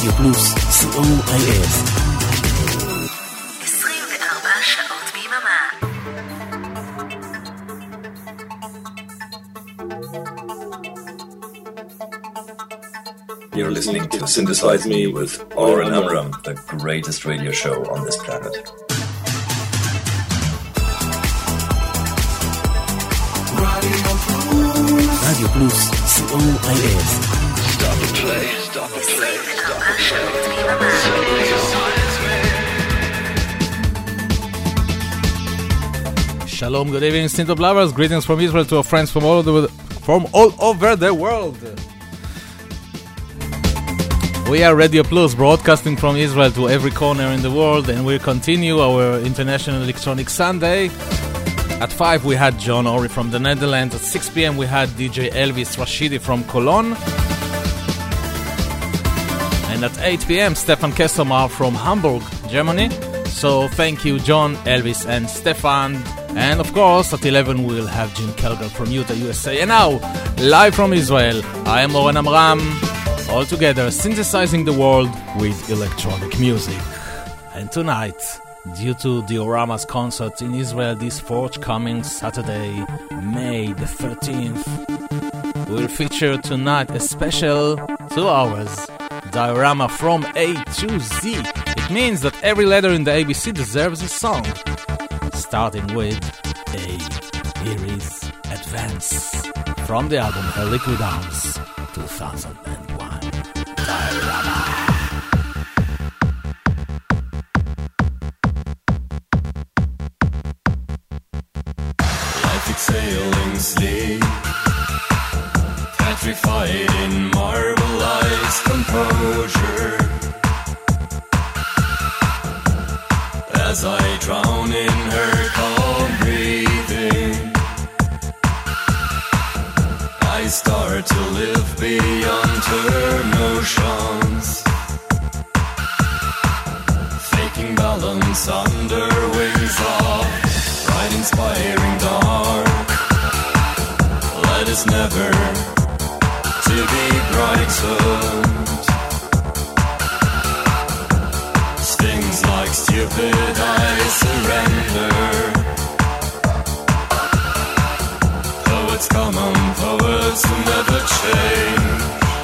רדיו פלוס, COIS. 24 שעות ביממה. You're listening to Synthesize Me with Oren Amram, the greatest radio show on this planet. רדיו פלוס, COIS. Stop the play, stop the play, stop the play. Synthesize me. Shalom, good evening, Synth lovers. Greetings from Israel to our friends from all over the world. We are Radio Plus, broadcasting from Israel to every corner in the world, and we continue our International Electronic Sunday. At 5 we had John Ori from the Netherlands. At 6 p.m. we had DJ Elvis Rashidi from Cologne. And at 8 p.m. Stefan Kesselmar from Hamburg, Germany. So thank you, John, Elvis, and Stefan. And of course, at 11 we'll have Jim Kelgar from Utah, USA. And now, live from Israel, I am Oren Amram. All together, synthesizing the world with electronic music. And tonight, due to Diorama's concert in Israel this forthcoming Saturday, May the 13th, we'll feature tonight a special 2 hours Diorama from A to Z. It means that every letter in the ABC deserves a song. Starting with A. Here is Advance from the album Her Liquid Arms 2001. Diorama. Life exhaling sleep, petrified in marbleized composure. As I drown in her calm breathing, I start to live beyond her notions, faking balance under wings of bright inspiring dark. Let us never to be brightened. Stings like stupid, I surrender. Poets come on, poets who never change.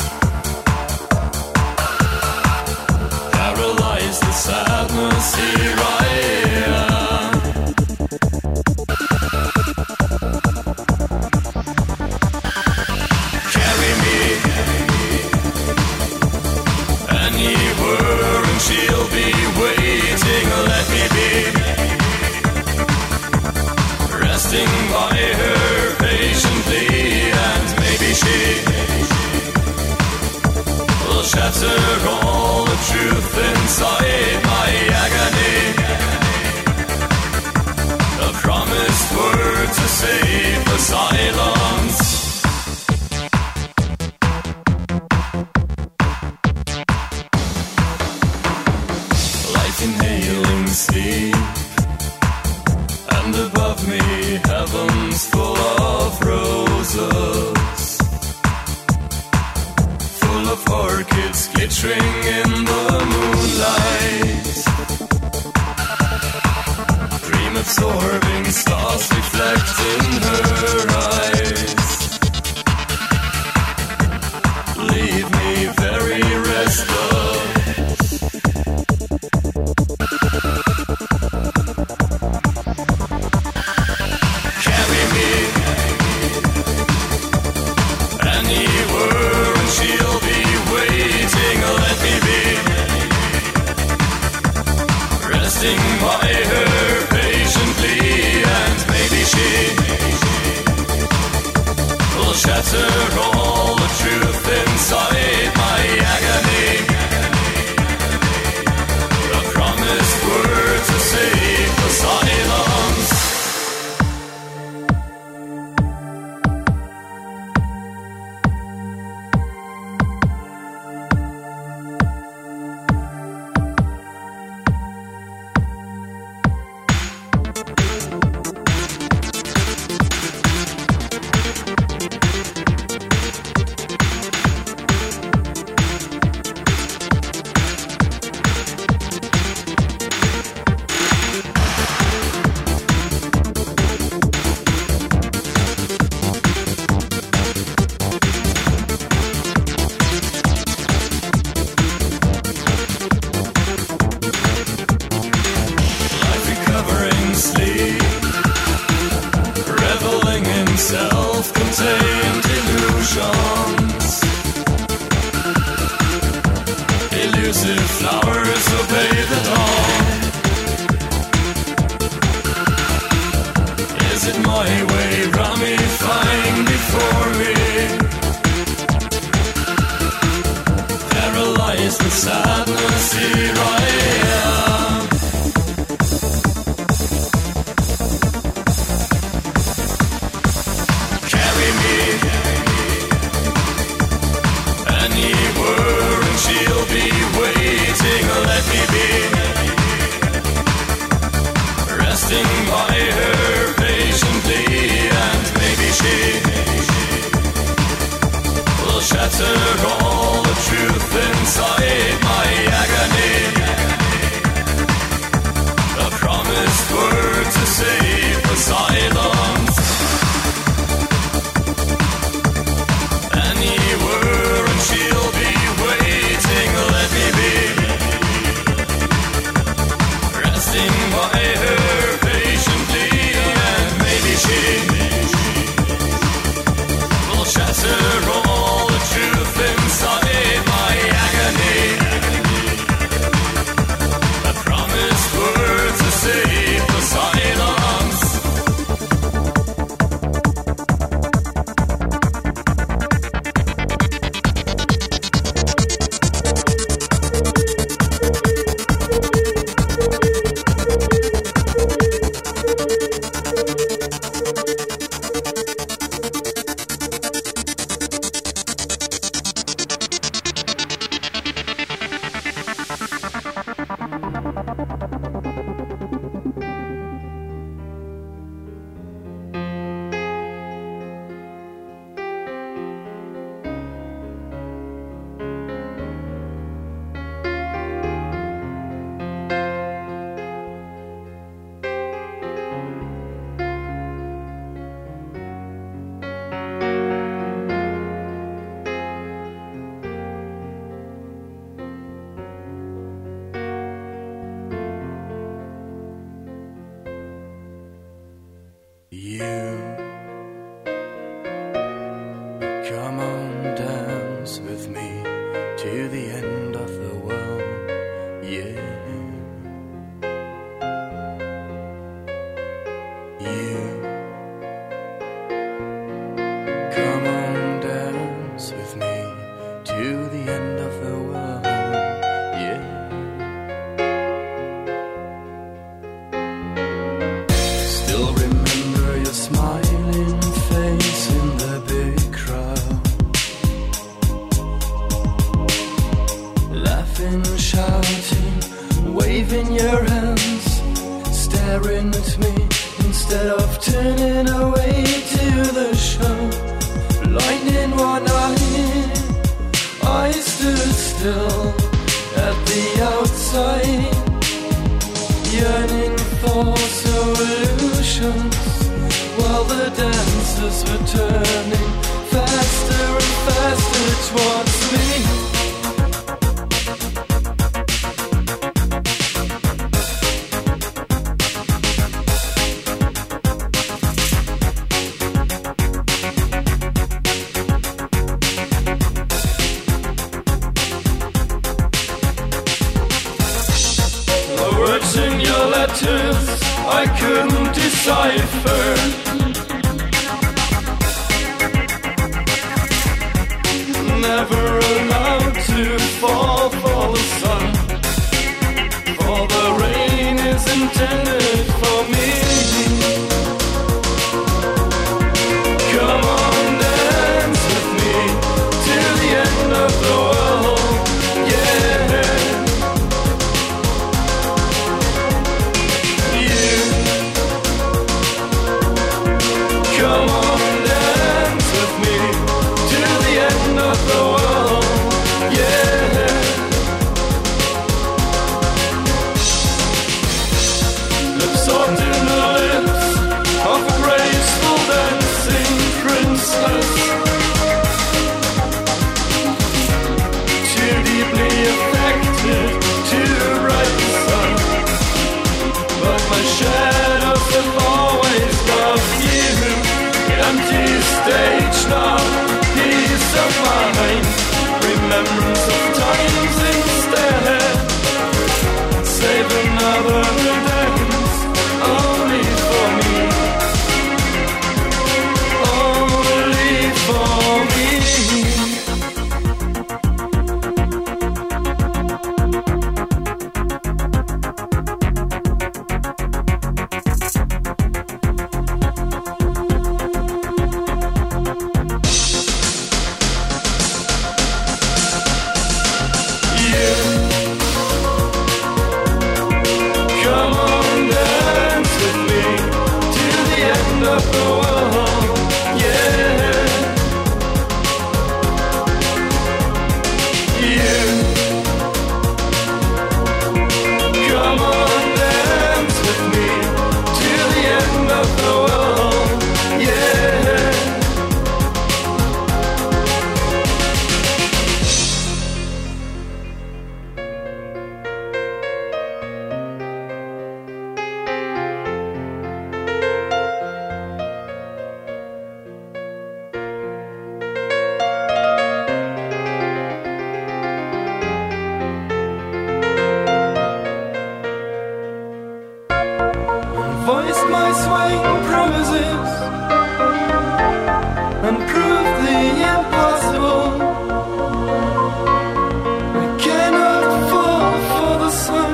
Paralyze the sadness, here I am. Carry me anywhere and she'll be waiting. Let me be resting by her patiently, and maybe she will shatter all the truth inside my agony. A promised word to save the silence. Light inhaling sleep, and above me heavens full of roses, full of orchids glittering in the moonlight. Dream absorbing stars reflect in her eyes. Leave me very restless. Carry me anywhere and she'll be waiting. Let me be resting by her patiently, and maybe she will shatter all the truth inside my agony. A promised word to save the silence. self-contained illusions. Elusive flowers obey the dawn. Is it my way ramifying before me? Paralyzed with sadness, here I am. Carry me anywhere and she'll be waiting. Let me be resting by her patiently, and maybe she will shatter all the truth inside my agony. A promised word to save the silence. Anywhere and she'll be waiting. Let me be resting by her patiently, and maybe she will shatter all the truth inside my agony. A promised word to save the silence. Come on, dance with me to the end of the world, yeah. You come on, dance with me to the end of the world, yeah. Still remember your smiling face in the big crowd, laughing, shouting, waving your hands, staring at me instead of turning away to the show. Blind in one eye, I stood still at the outside, yearning for solutions, while the dancers were turning faster and faster towards me. The words in your letters I couldn't decipher. Never allowed to fall for the sun, for the rain is intended for me. Come on, dance with me till the end of the world, yeah. You empty stage now, peace of mind, remembrance of times instead. Save another dance only for me, only for me. Voiced my swaying promises and proved the impossible. I cannot fall for the sun.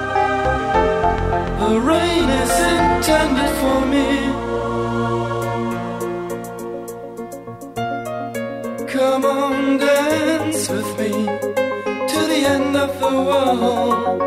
The rain is intended for me. Come on, dance with me to the end of the world.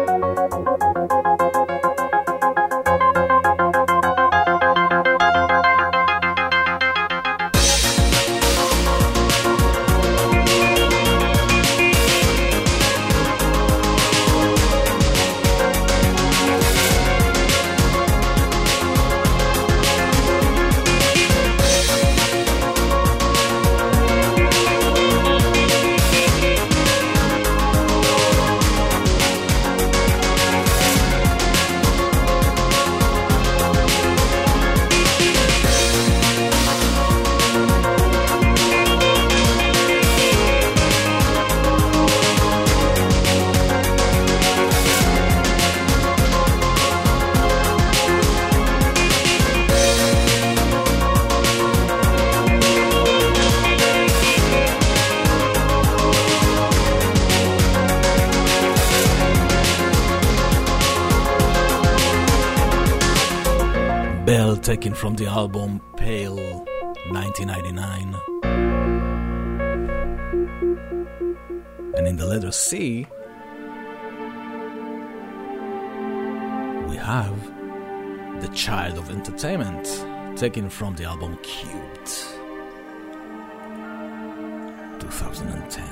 Bell, taken from the album Pale 1999. And in the letter C, we have The Child of Entertainment, taken from the album Cubed 2010.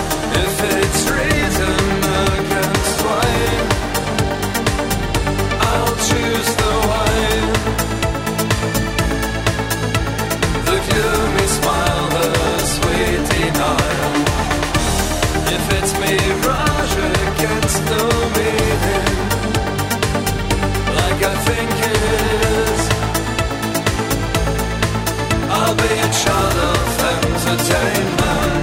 I I think it is. I'll be a child of entertainment.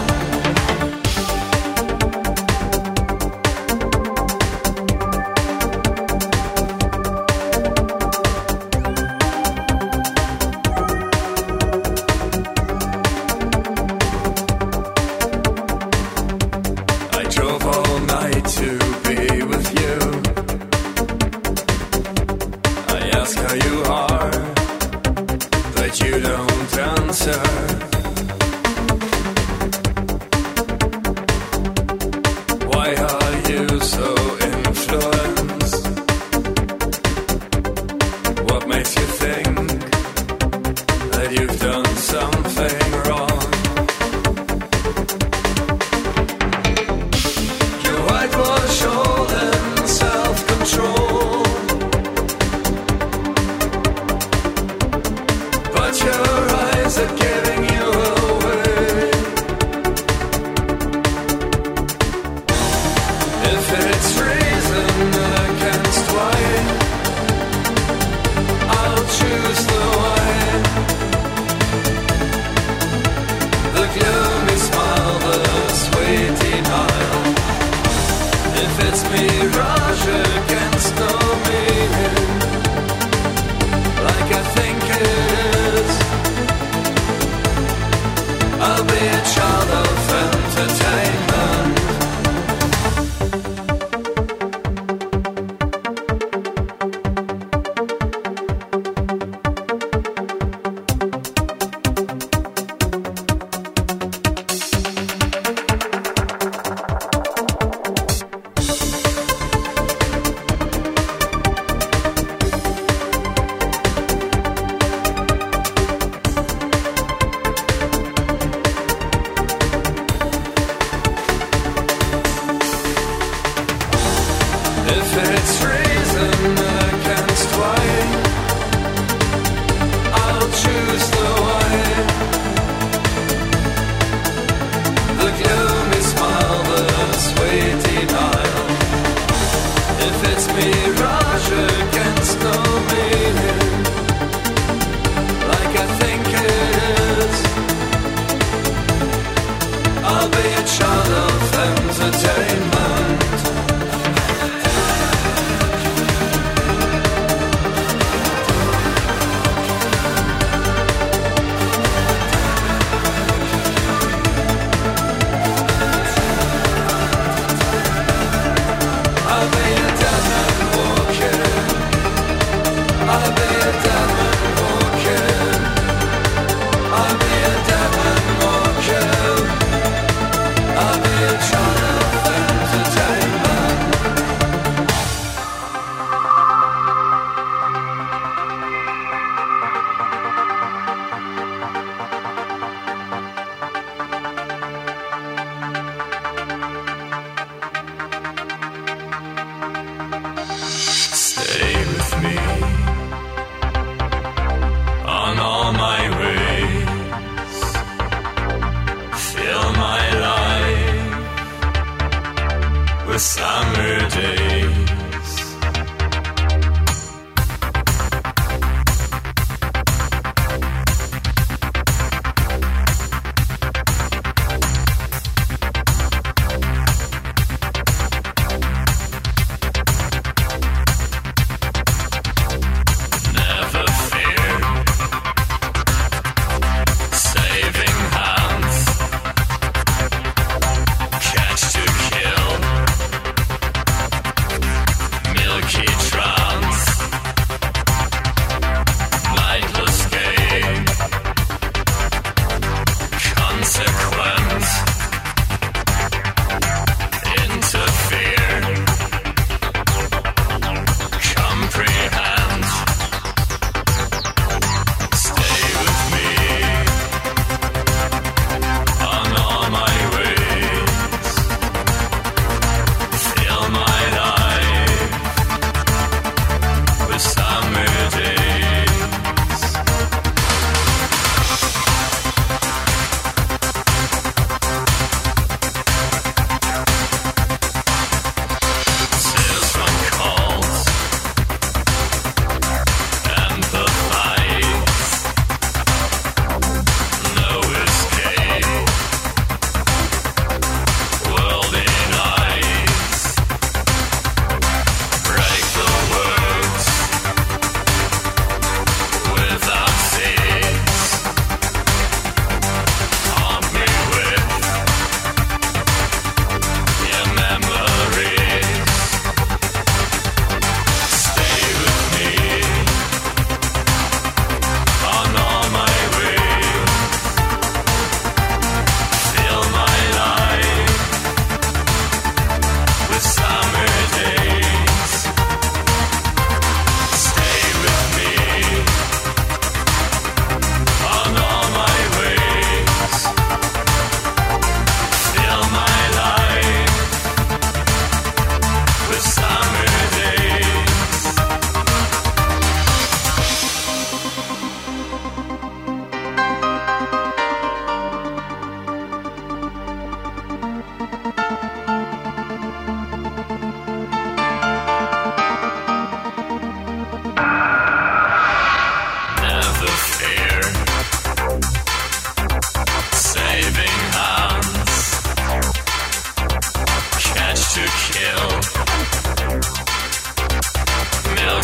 I drove all night to be with you. I ask how you are, but you don't answer. Why are you so influenced? What makes you think that you've done something wrong? You whitewash all in self-control, but your eyes are giving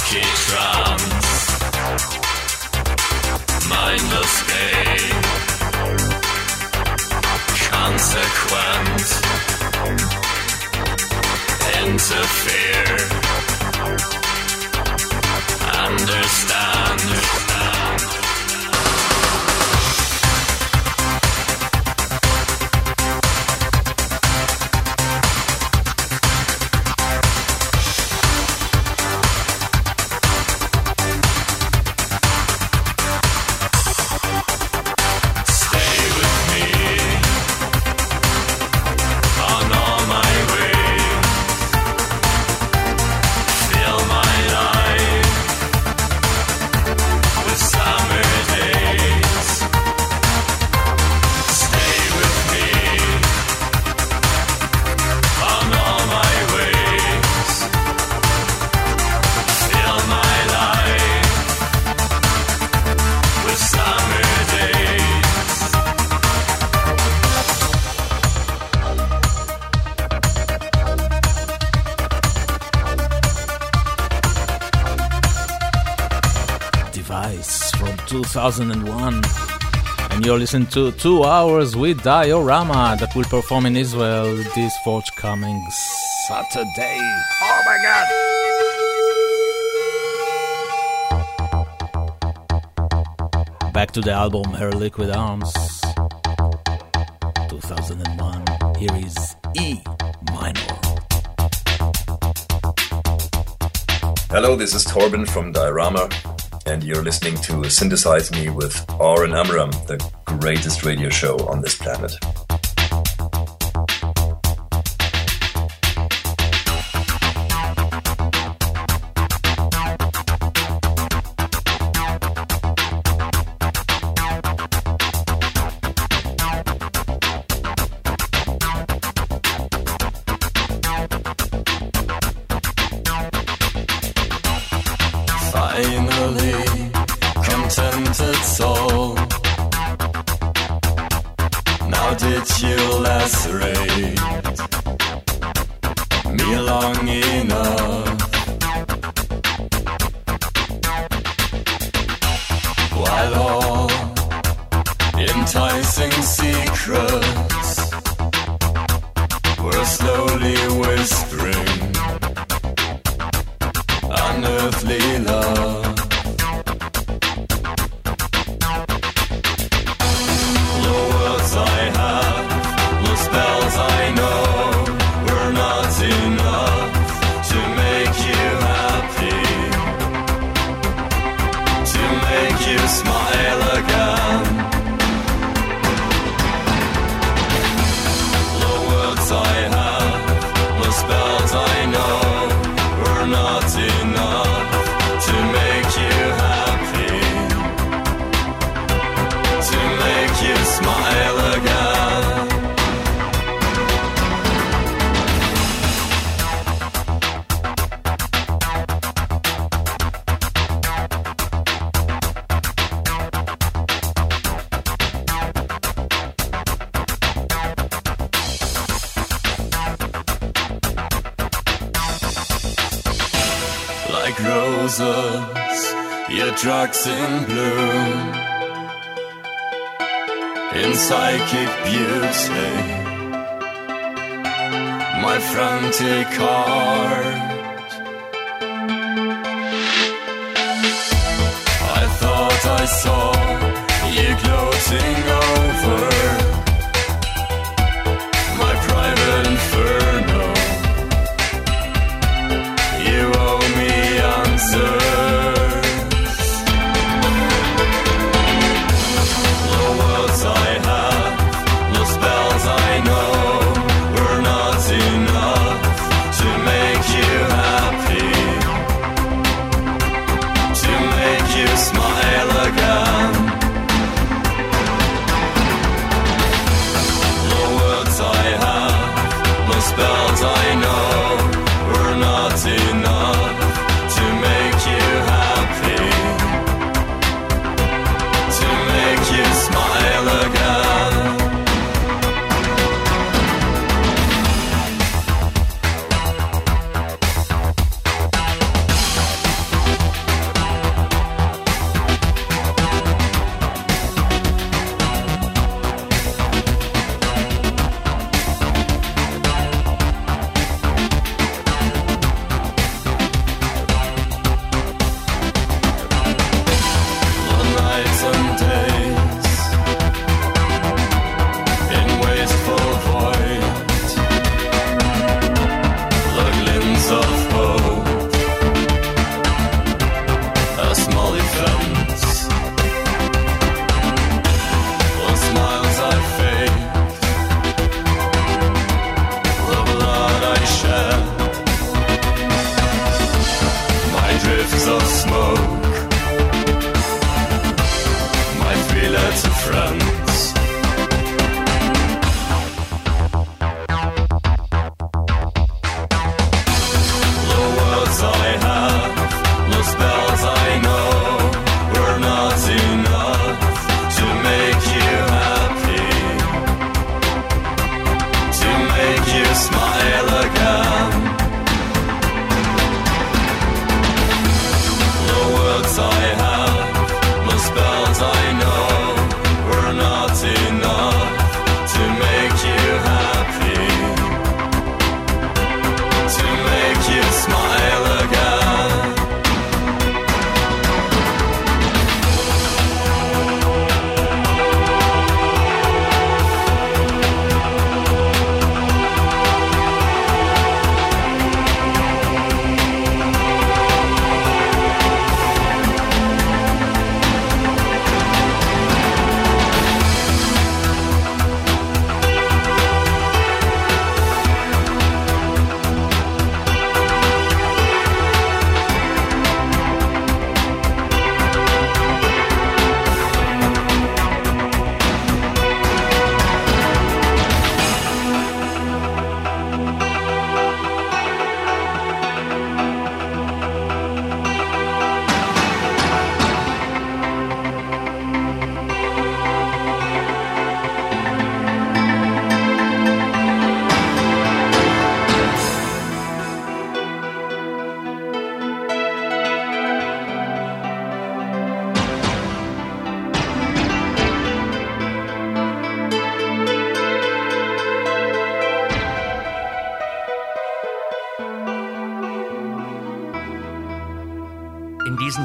funky trance, mindless game, consequent, interfere, understand. From 2001, and you're listening to 2 hours with Diorama that will perform in Israel this forthcoming Saturday. Oh my god! Back to the album Her Liquid Arms, 2001. Here is E minor. Hello, this is Torben from Diorama, and you're listening to Synthesize Me with Oren Amram, the greatest radio show on this planet. Finally, contented soul. Now did you lacerate me long enough? While all enticing secrets were slowly whispering unearthly love. The words I have, the spells I know, were not enough to make you happy, to make you smile again. The words I have, the spells I know, were not enough to make you happy, to make you smile again. Like roses, your drugs in bloom, in psychic beauty, my frantic heart. I thought I saw you gloating over my private inferno. You owe me answers. The words I have, the spells I know, were not enough to make you happy, to make you smile again.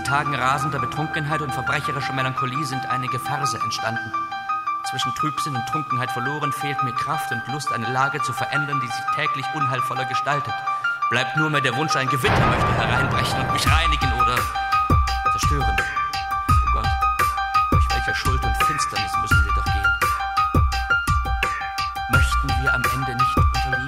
Tagen rasender Betrunkenheit und verbrecherischer Melancholie sind einige Verse entstanden. Zwischen Trübsinn und Trunkenheit verloren fehlt mir Kraft und Lust, eine Lage zu verändern, die sich täglich unheilvoller gestaltet. Bleibt nur mehr der Wunsch, ein Gewitter möchte hereinbrechen und mich reinigen oder zerstören. Oh Gott, durch welche Schuld und Finsternis müssen wir doch gehen? Möchten wir am Ende nicht unterliegen?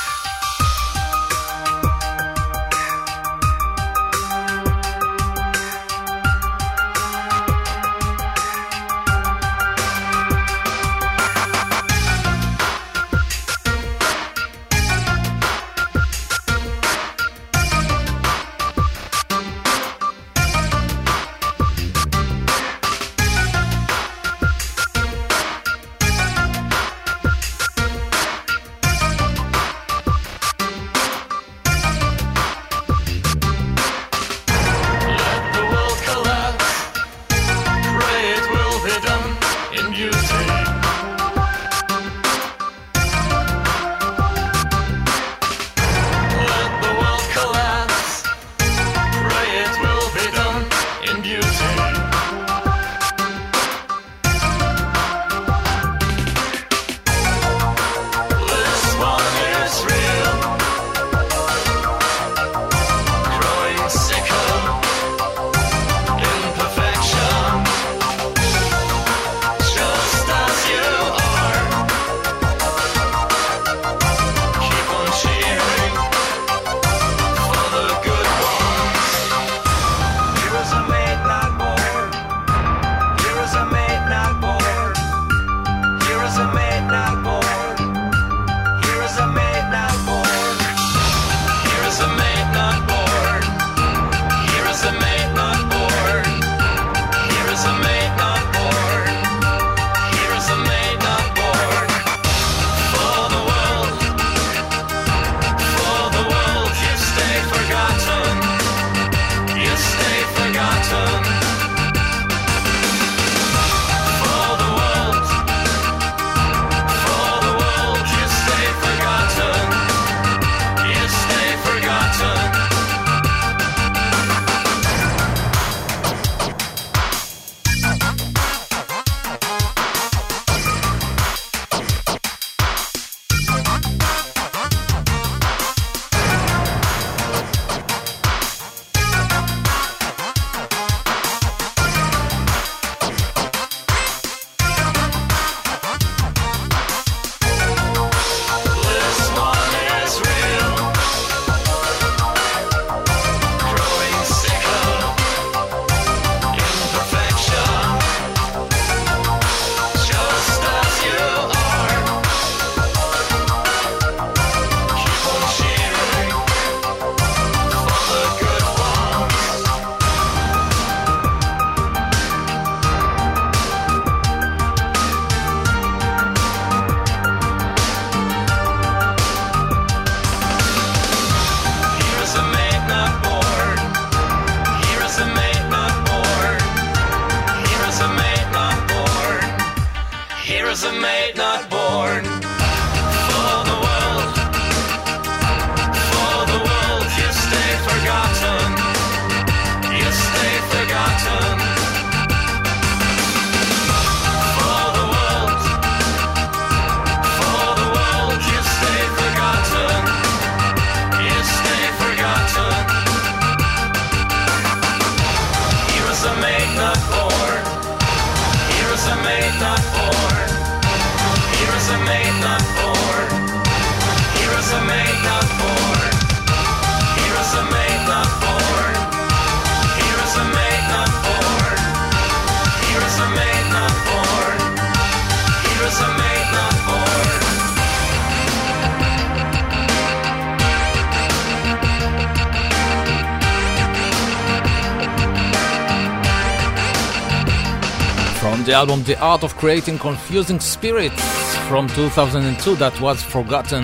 The album The Art of Creating Confusing Spirits from 2002, that was Forgotten.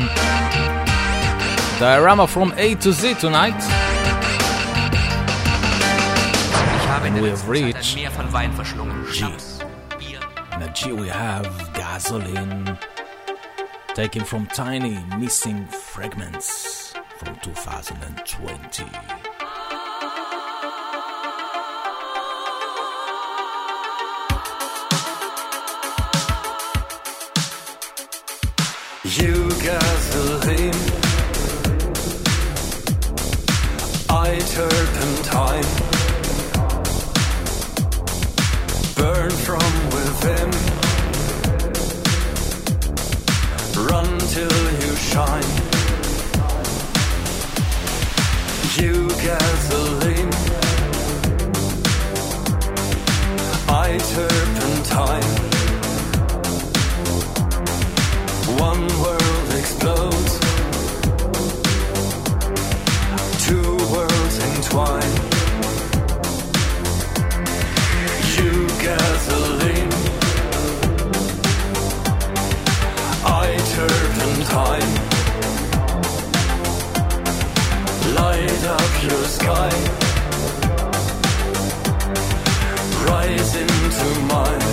Diorama from A to Z tonight. And we have reached G. In a G we have Gasoline, taken from Tiny Missing Fragments from 2020. You gasoline, I turpentine, burn from within, run till you shine. You gasoline, I turpentine. One world explodes, two worlds entwine. You gasoline, I turpentine. Light up your sky, rise into mine.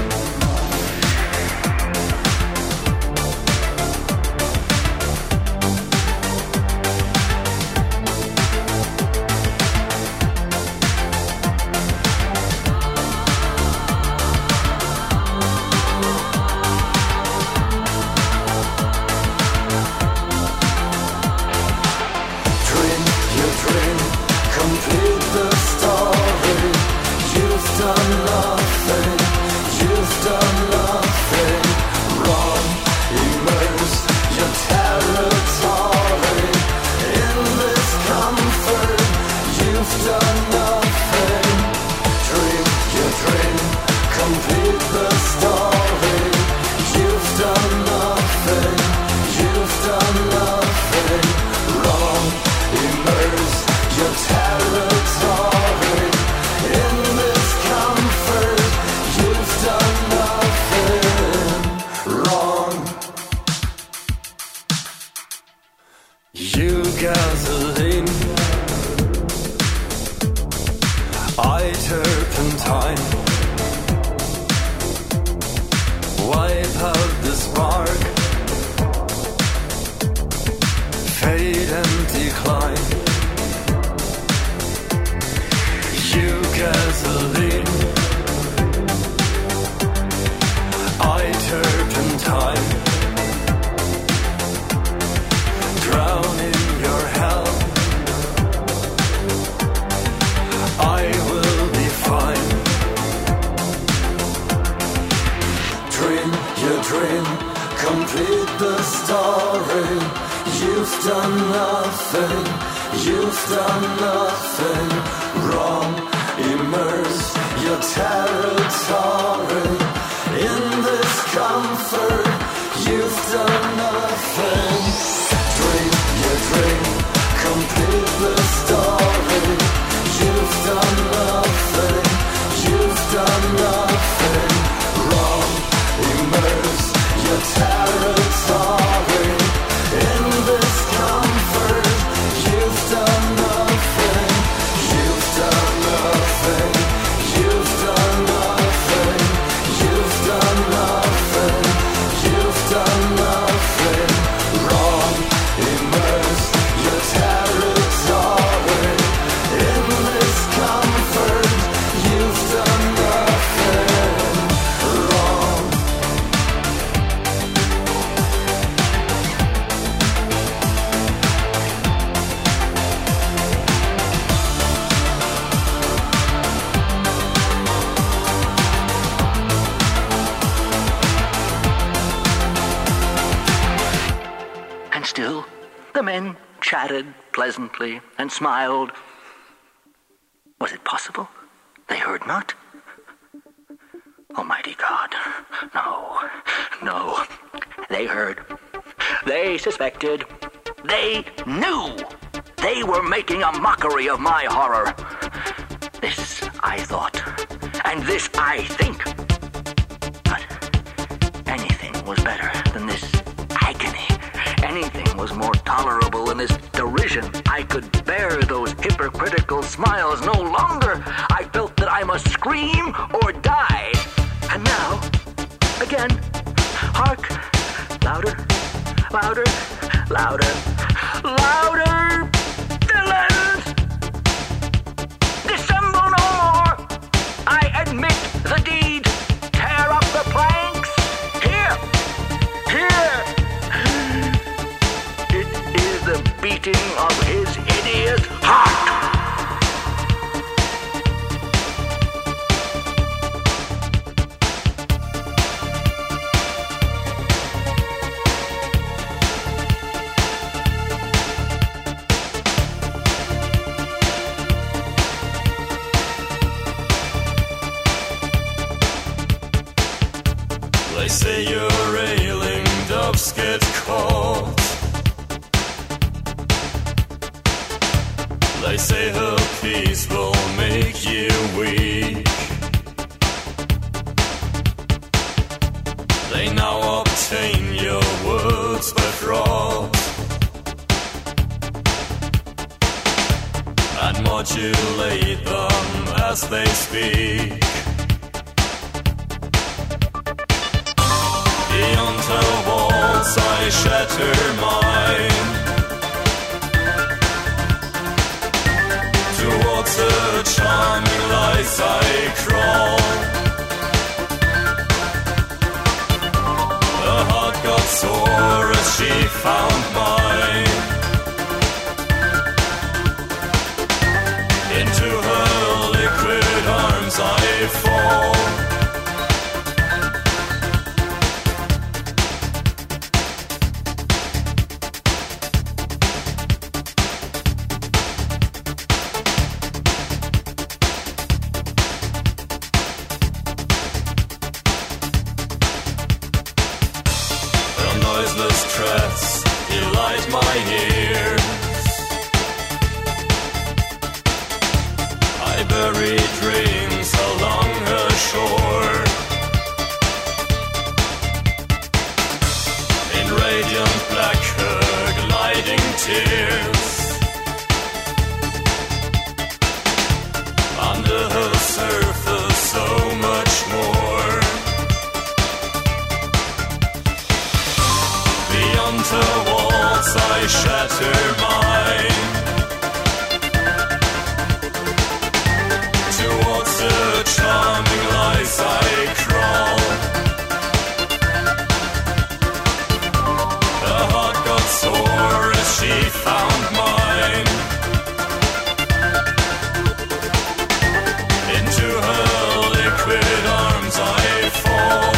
Pleasantly and smiled. Was it possible? They heard not? Almighty God. No. They heard. They suspected. They knew. They were making a mockery of my horror. This I thought. And this I think. But anything was better than this agony. Anything was more tolerable than this derision. I could bear those hypocritical smiles no longer. I felt that I must scream or die. And now, again, hark, louder, louder, louder, louder, villains! Dissemble no more. I admit the deed. Tear up the planks. Here, They say your ailing doves get caught. They say her peace will make you weak. They now obtain your words by fraud and modulate them as they speak. Beyond her walls I shatter mine. Towards her charming lies I crawl. Her heart got sore as she found mine. Into her liquid arms I fall. Delight my ears. I bury dreams along her shore. In radiant black her gliding tears. Under her surface so much more. Beyond her walls I shatter mine. Towards her charming lies I crawl. Her heart got sore as she found mine. Into her liquid arms I fall.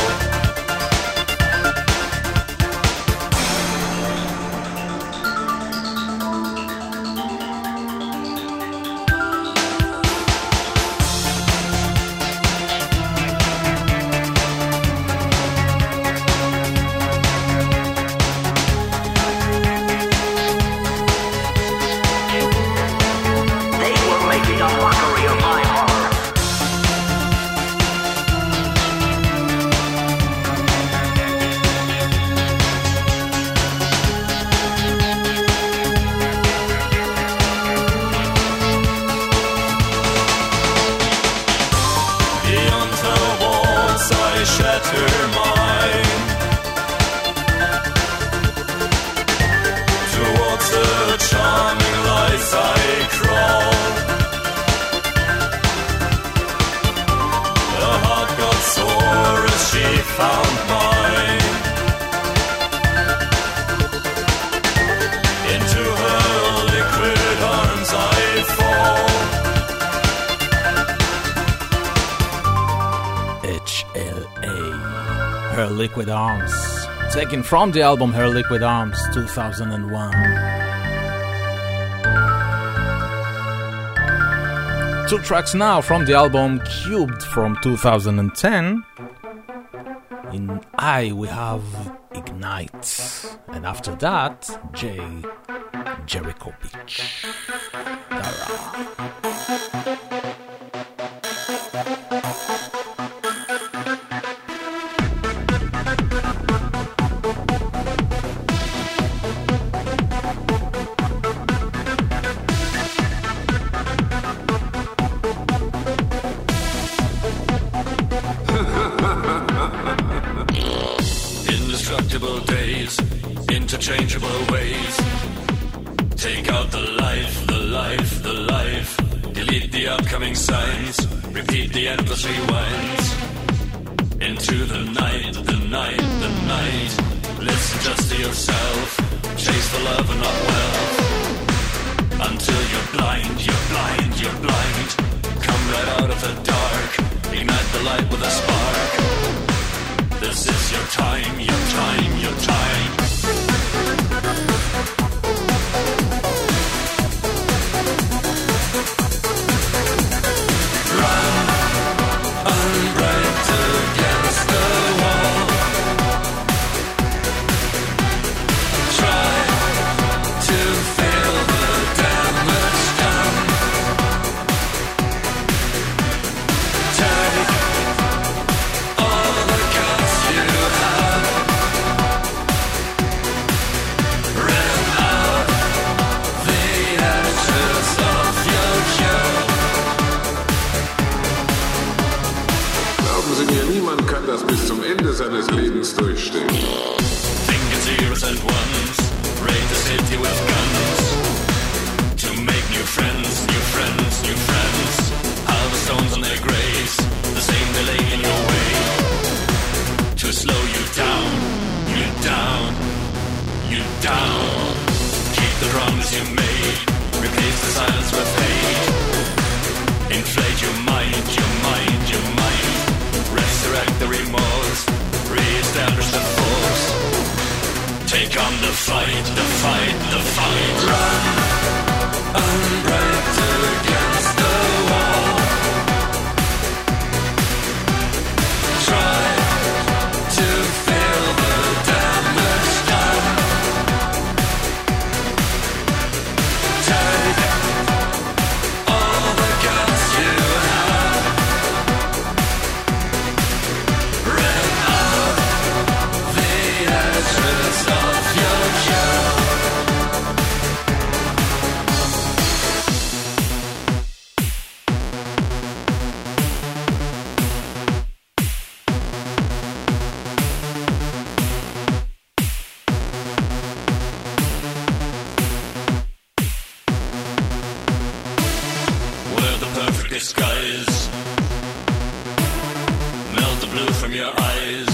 Her Liquid Arms, taken from the album Her Liquid Arms 2001. Two tracks now from the album Cubed from 2010. In I we have Ignite, and after that Jay Jericho Beach. Dara. Interchangeable ways. Take out the life, the life, the life. Delete the upcoming signs. Repeat the endless rewinds. Into the night, the night, the night. Listen just to yourself. Chase the love and not wealth. Until you're blind, you're blind, you're blind. Come right out of the dark. Ignite the light with a spark. This is your time, your time, your time. Run, unbreak against the wall. Sie mir, niemand kann das bis zum Ende seines Lebens durchstehen. Think it's zeros and ones, raid the city with guns. To make new friends, new friends, new friends. All the stones on their graves, the same delay in your way. To slow you down, you down, you down. Keep the promise you made, replace the silence with hate. Inflate your mind, your mind, your mind. Resurrect the remorse, re-establish the force. Take on the fight, the fight, the fight. Run, unbraked against the wall. Try to feel the damage done. Take all the guts you have. Rip out the edges of your cube. Wear the perfect disguise. Melt the blue from your eyes.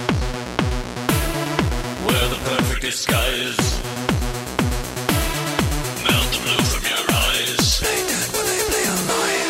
Wear the perfect disguise. Melt the blue from your eyes. Play dead when they play alive.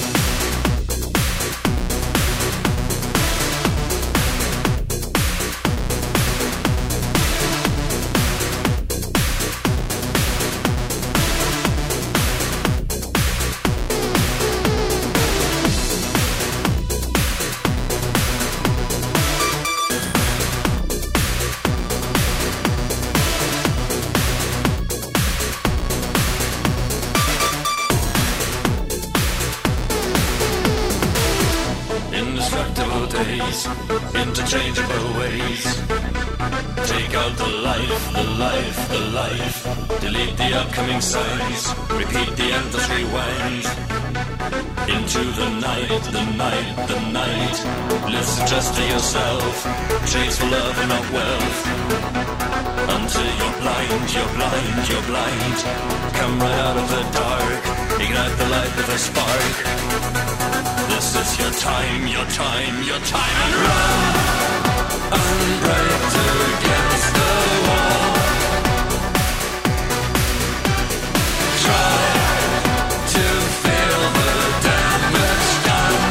Indestructible days, interchangeable ways. Take out the life, the life, the life. Delete the upcoming signs. Repeat the endless rewind. Into the night, the night, the night. Listen just to yourself. Chase for love and not wealth. Until you're blind, you're blind, you're blind. Come right out of the dark. Ignite the light with a spark. This is your time, your time, your time. And run, unbraked against the wall. Try to feel the damage done.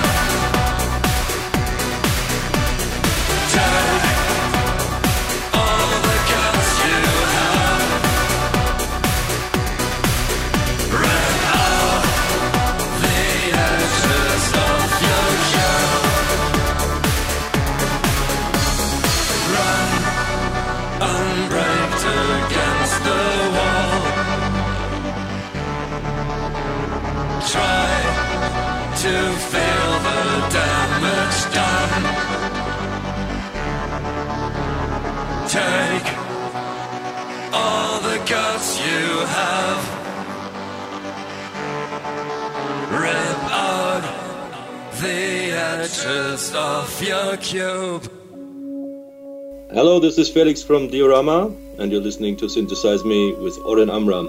Take all the guts you have. Rip out the edges of your cube. Run, unbraked against the wall. Try to feel the damage done. Take all the guts you have. Rip out the edges of your cube. Hello, this is Felix from Diorama, and you're listening to Synthesize Me with Oren Amram.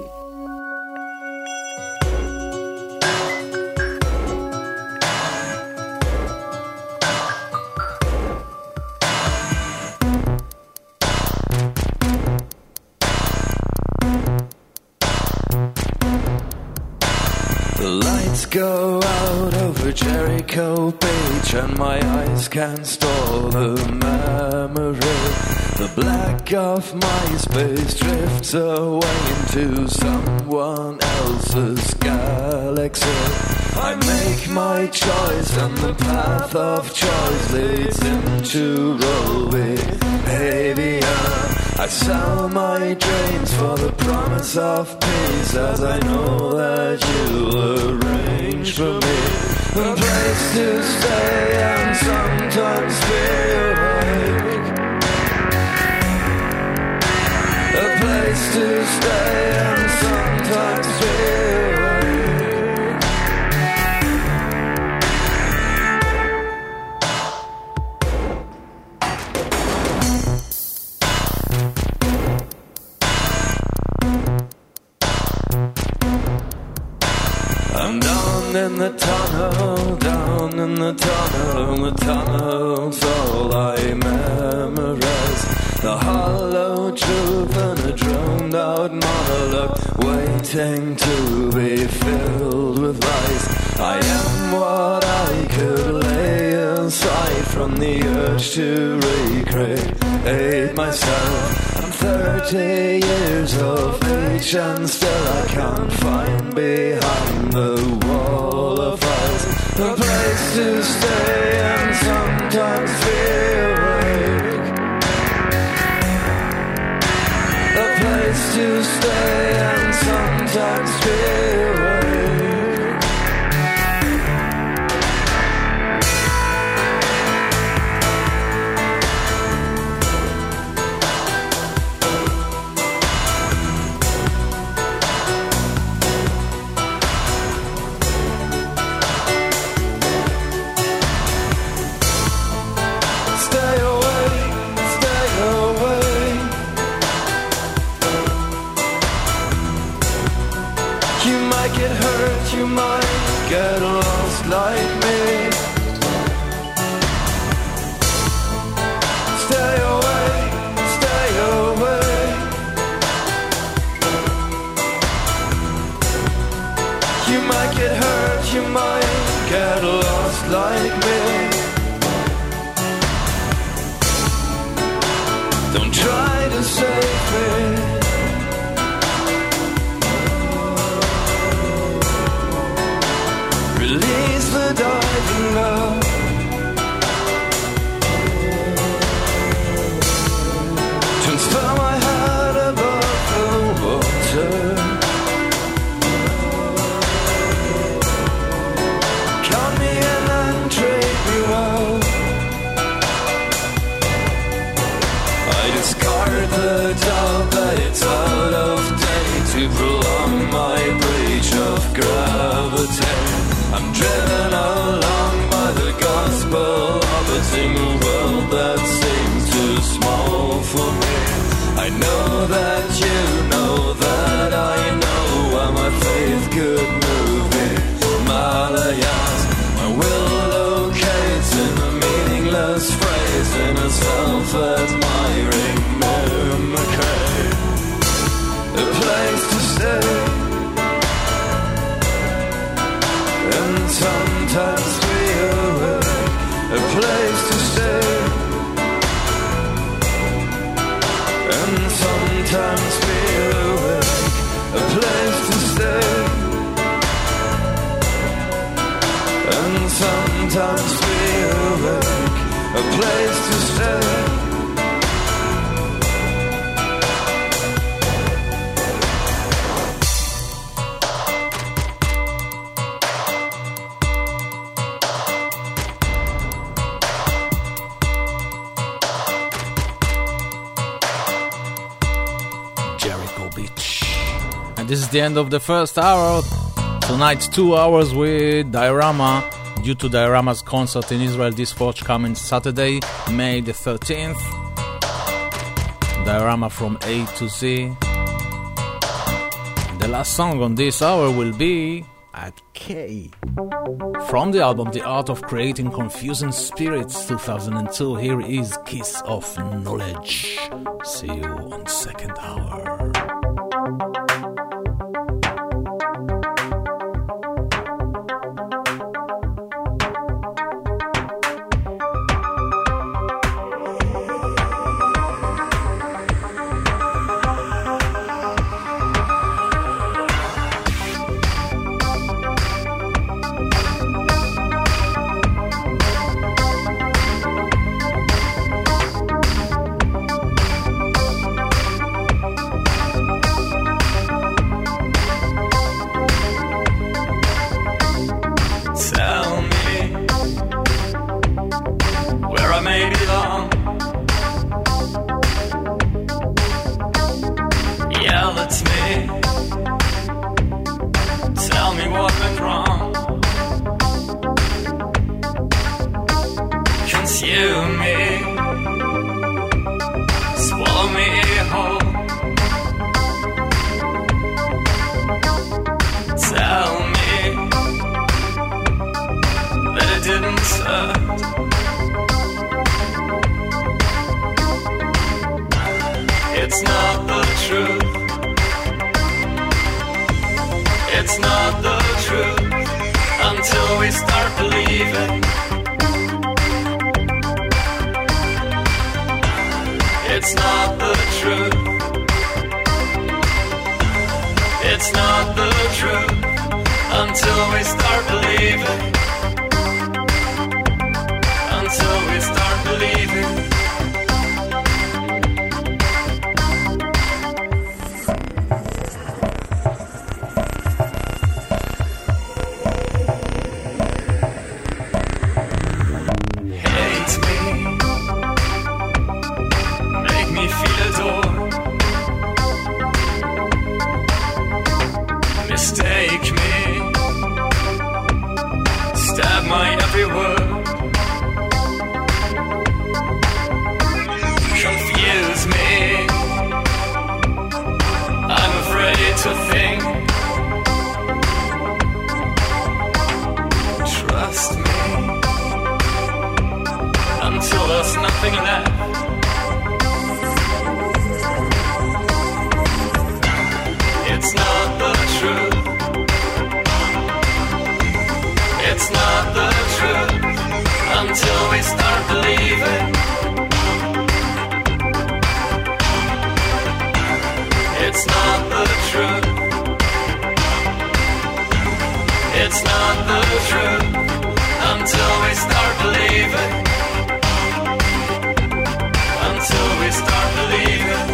The lights go out over Jericho Beach, and my eyes can't store the memory. The black of my space drifts away into someone else's galaxy. I make my choice, and the path of choice leads into roll with behavior. I sell my dreams for the promise of peace, as I know that you arrange for me a place to stay and sometimes feel awake. A place to stay and sometimes feel awake. in the tunnel's all I memorize. The hollow truth and a drowned out monologue, waiting to be filled with lies. I am what I could lay aside from the urge to recreate myself. I'm 30 years of age and still I can't find behind the wall of files a place to stay and sometimes feel awake. A place to stay and sometimes feel awake. You might get lost like me. Stay away, stay away. You might get hurt, you might get lost like me. Don't try to save me. Release the diving love. Transfer my head above the water. Count me in and treat me well. I discard the doubt that it's out of date to prolong my breach of gravity. I'm driven along by the gospel of a single world that seems too small for me. I know that you know that I know where my faith could move me. Malayas, my will locates in a meaningless phrase in a self-admiring mimicry. A place to stay and sometimes feel awake. A place to stay and sometimes feel awake. A place to stay and sometimes feel awake. A place to stay. This is the end of the first hour. Tonight's 2 hours with Diorama, due to Diorama's concert in Israel this forthcoming Saturday, May the 13th. Diorama from A to Z. The last song on this hour will be At K. From the album The Art of Creating Confusing Spirits 2002, here is Kiss of Knowledge. See you on second hour. night. It's not the truth. It's not the truth until we start believing. It's not the truth. It's not the truth until we start believing. Until we start believing. Hate me. Make me feel adored. Mistake me. Stab my every word. Confuse me. I'm afraid to think. Trust me until there's nothing left. It's not the truth. It's not the truth until we start believing. It's not the truth. It's not the truth until we start believing. Until we start believing.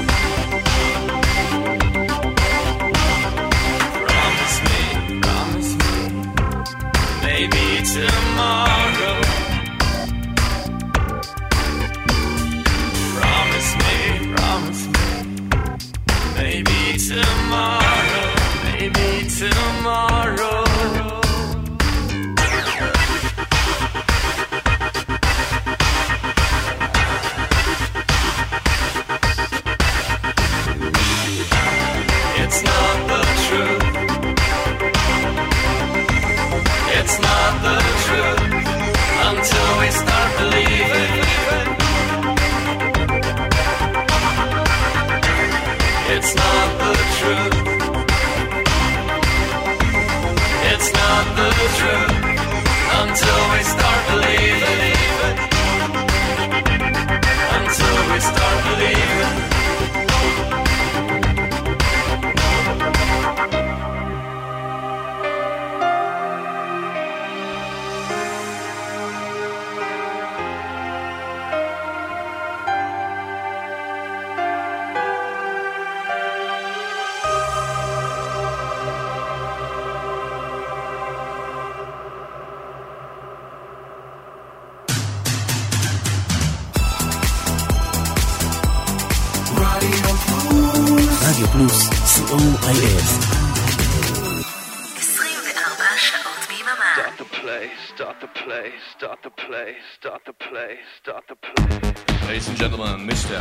Promise me, maybe tomorrow. Promise me, maybe tomorrow, maybe tomorrow. It's not the truth. It's not the truth until we start believing. It's not the truth. It's not the truth until we start believing. Until we start believing. רדיו פלוס, COIS. 24 שעות ביממה. Start the play, start the play, start the play, start the play, start the play. Ladies and gentlemen, Mr.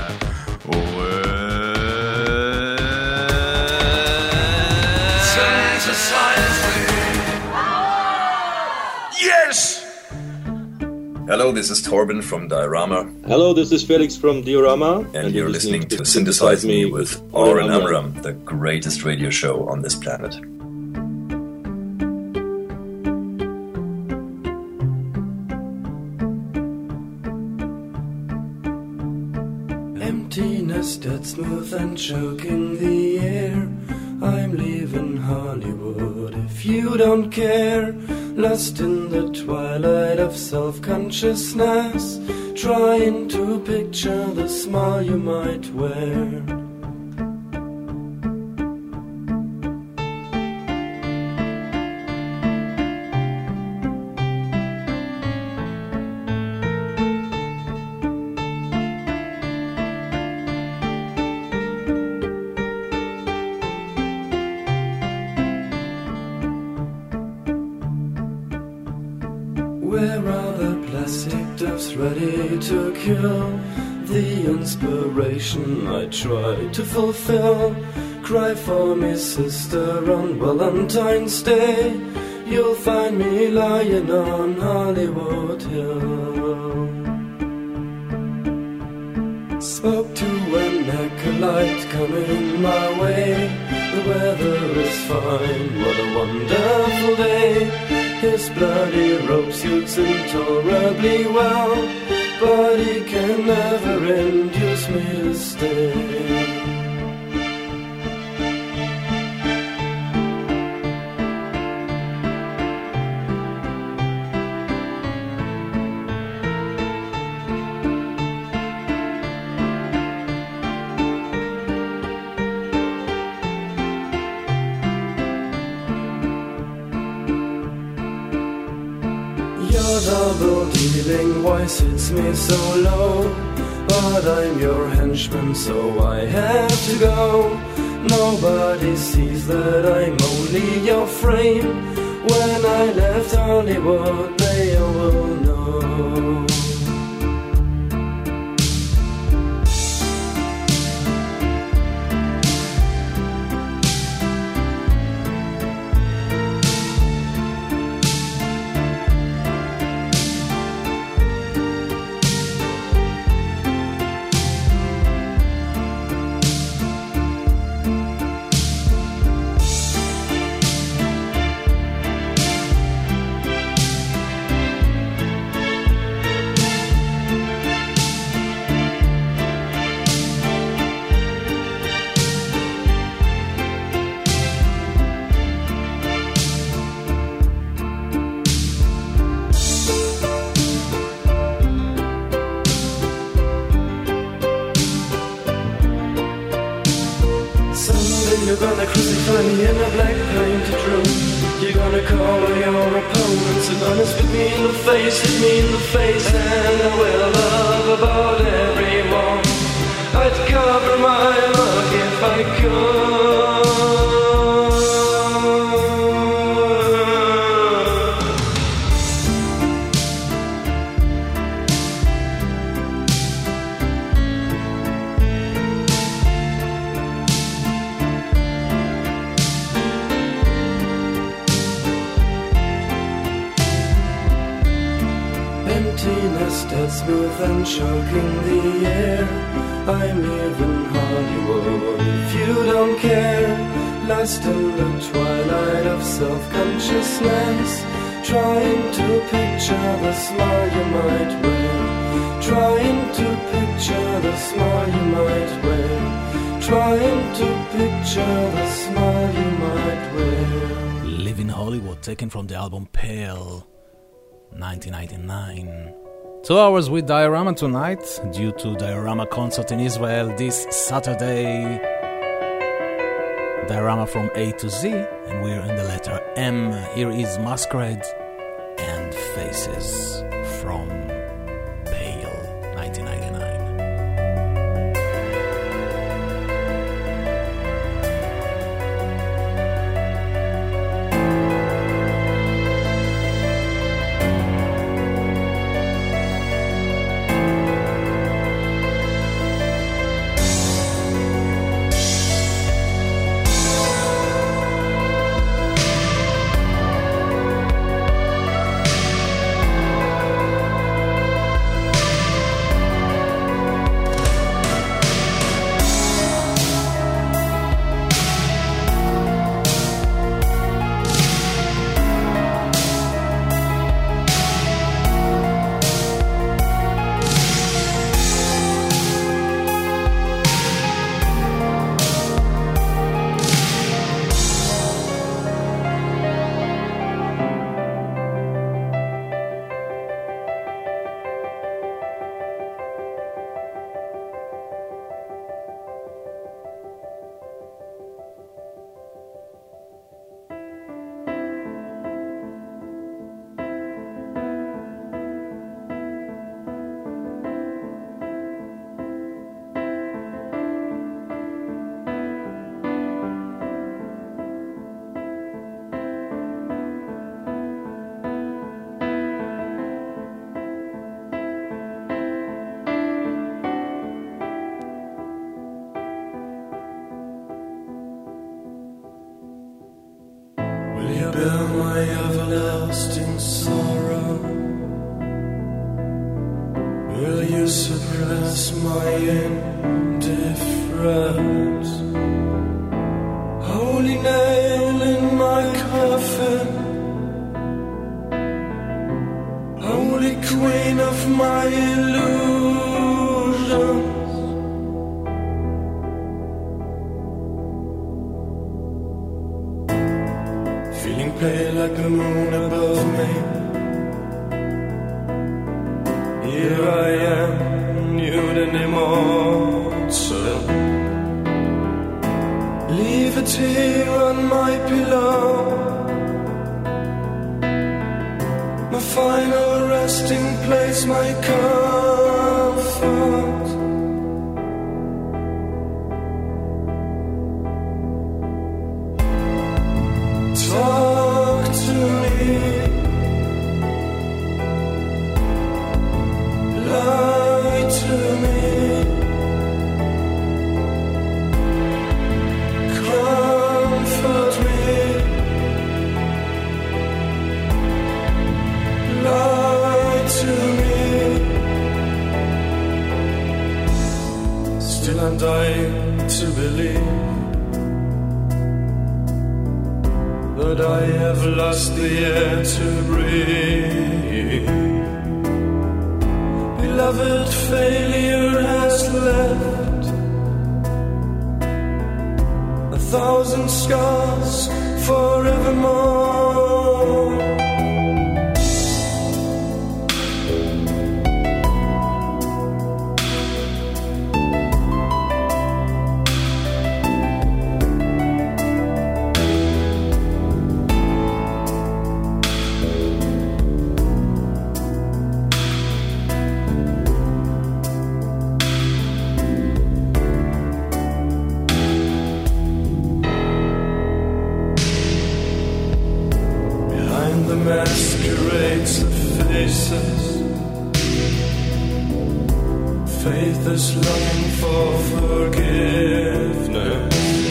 Yes! Hello, this is Torben from Diorama. Hello, this is Felix from Diorama. And you're listening to Synthesize Me with Oren Amram, the greatest radio show on this planet. Emptiness dead smooth and choking the air. I'm leaving Hollywood if you don't care. Lost in the twilight of self-consciousness, trying to picture the smile you might wear. Where are the plastic doves ready to kill the inspiration I try to fulfill? Cry for me, sister, on Valentine's Day. you'll find me lying on Hollywood Hill. Spoke to an acolyte coming my way. The weather is fine, what a wonderful day. His bloody robe suits intolerably well, but he can never induce me to stay. Your double dealing, why sits me so low? But I'm your henchman, so I have to go. Nobody sees that I'm only your frame. When I left Hollywood, they all will know. You're gonna crucify me in a black painted room. You're gonna call all your opponents. You're gonna spit me in the face, hit me in the face. And I will love about everyone. I'd cover my mug if I could. Emptiness dead smooth and choking the air. I'm leaving Hollywood if you don't care. Lost in the twilight of self-consciousness, trying to picture the smile you might wear. Trying to picture the smile you might wear. Trying to picture the smile you might wear. Living Hollywood, taken from the album Pale, 1999. 2 hours with Diorama tonight, due to Diorama concert in Israel this Saturday. Diorama from A to Z, and we're in the letter M. Here is Masquerade and Faces from Pale, 1999. Will you suppress my indifference? Holy nail in my coffin, holy queen of my illusions. Feeling pale like the moon above me. Here I am, nude and immortal. Leave it here on my pillow, my final resting place, my comfort. Talk to me, lie to me, comfort me, lie to me. Still I'm dying to believe that I have lost the air to breathe. Beloved, failure has left 1,000 scars forevermore. Masquerades of faces, faith is longing for forgiveness.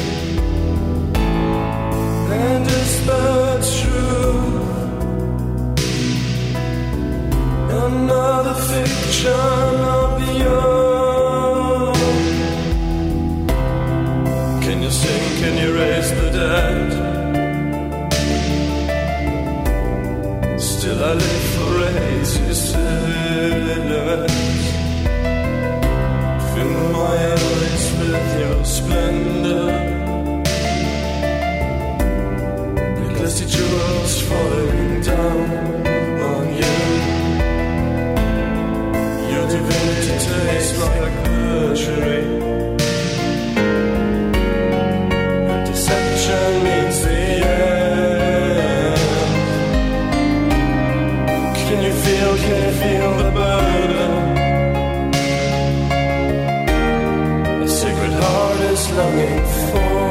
And is that true? Another fiction of yours. Can you sing, can you raise the dead? Still I live for raises silhouettes. Fill my eyes with your splendor, like glassy jewels falling down on you. Your divinity tastes like perjury. Your deception means the end. Can you feel the burden? A sacred heart is longing for.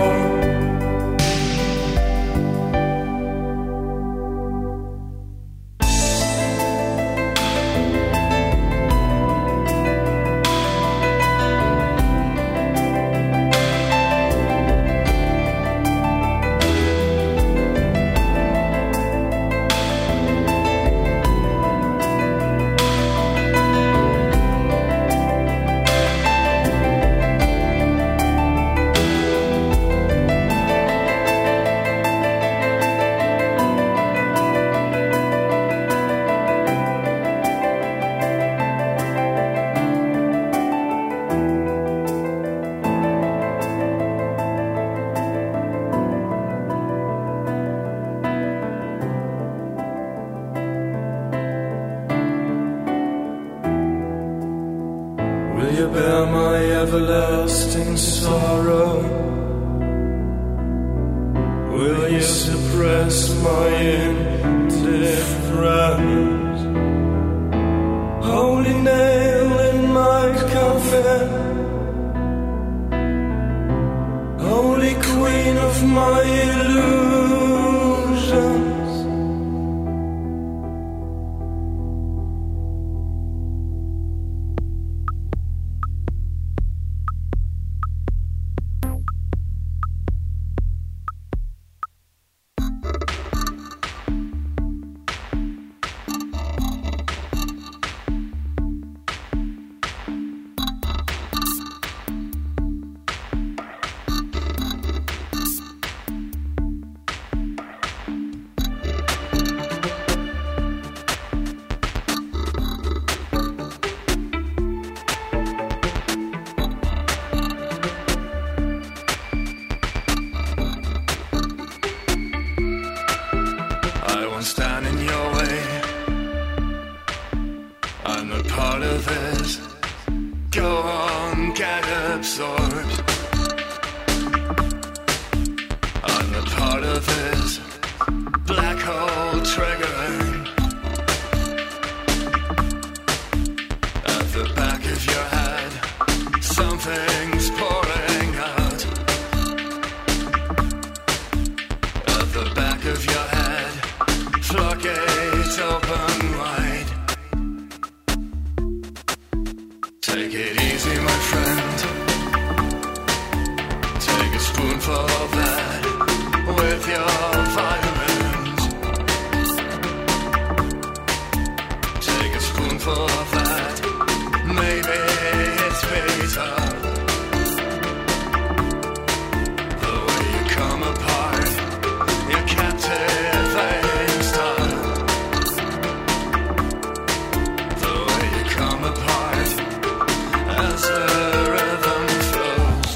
Will you bear my everlasting sorrow? Will you suppress my indifference? Holy nail in my coffin, holy queen of my illusions. a part of it. Go on, get absorbed. I'm a part of it. Black hole triggering. At the back of your head, something's pouring out. At the back of your head, floodgates open wide. Take it easy, my friend. Take a spoonful of that with your vitamins. Take a spoonful of that. Maybe it's bitter. The way you come apart, your captivating style. The way you come apart as the rhythm flows.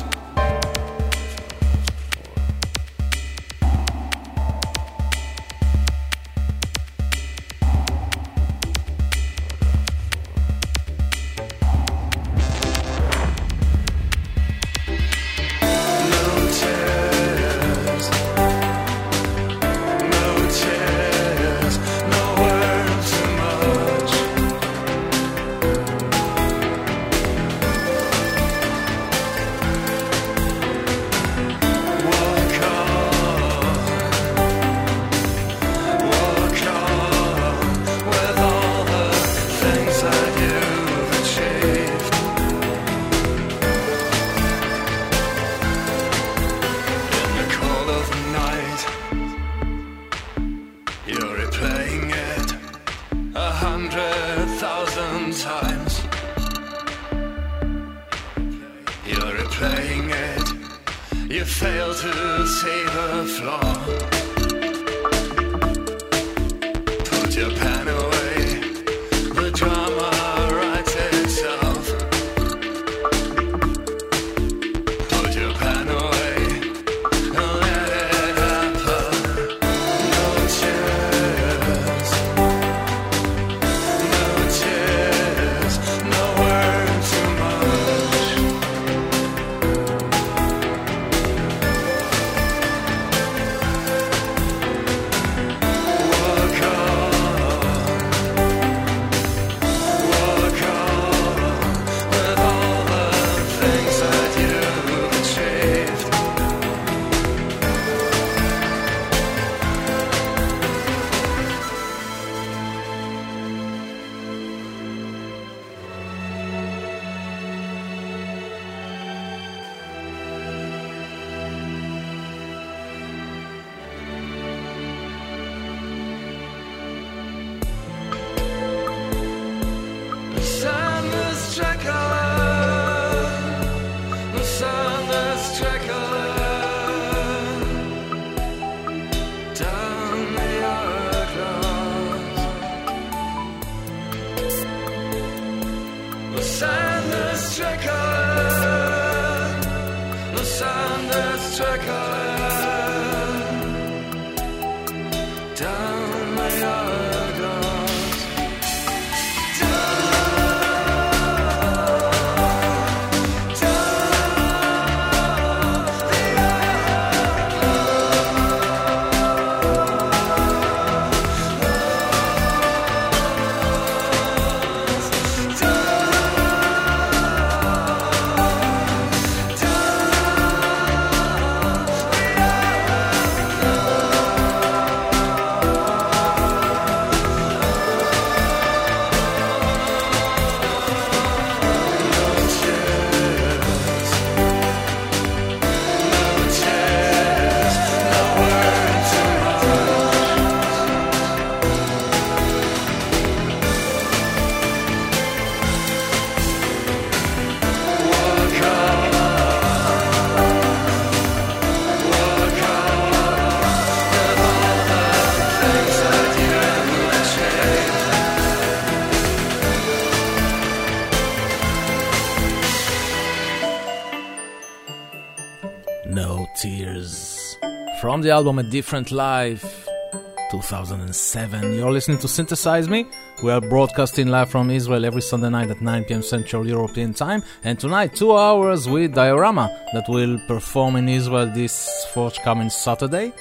No Tears. From the album A Different Life, 2007. You're listening to Synthesize Me. We are broadcasting live from Israel every Sunday night at 9 p.m. Central European Time. And tonight, 2 hours with Diorama that will perform in Israel this forthcoming Saturday.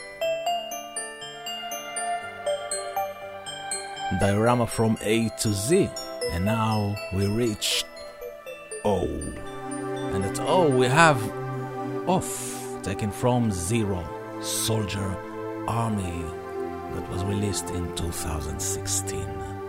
Diorama from A to Z. And now we reach O. And at O we have Off, taken from Zero, Soldier Army, that was released in 2016.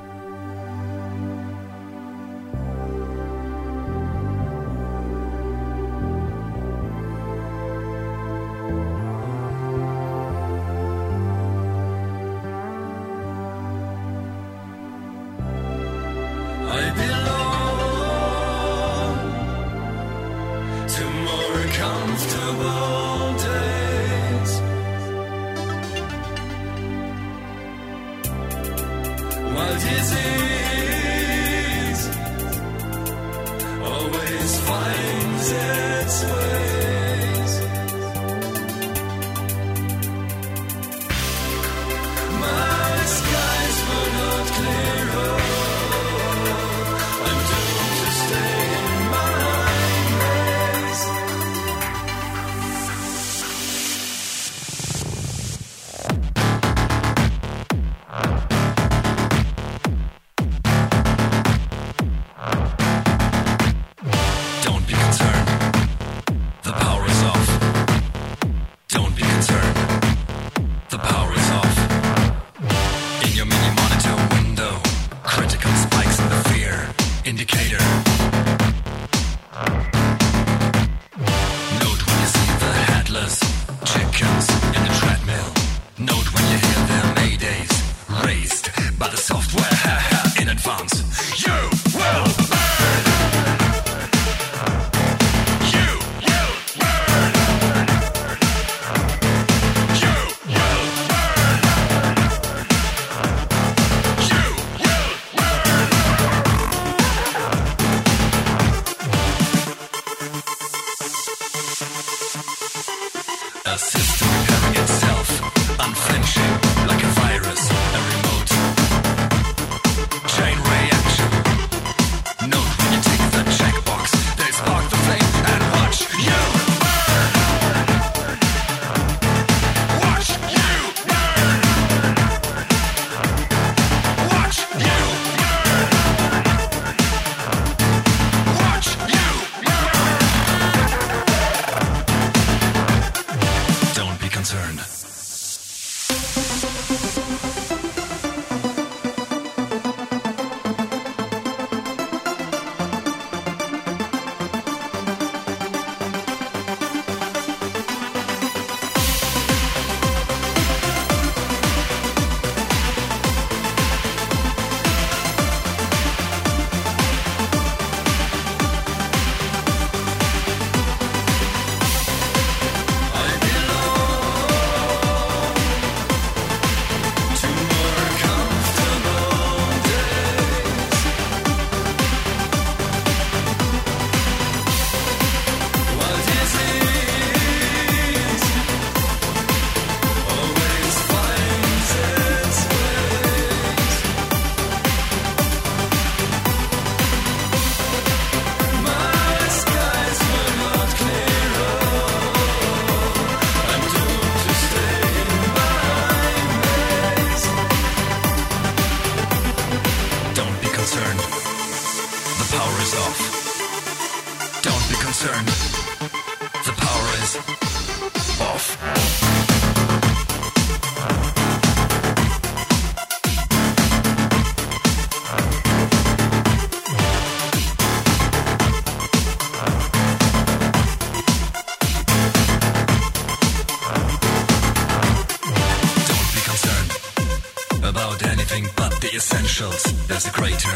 There's a greater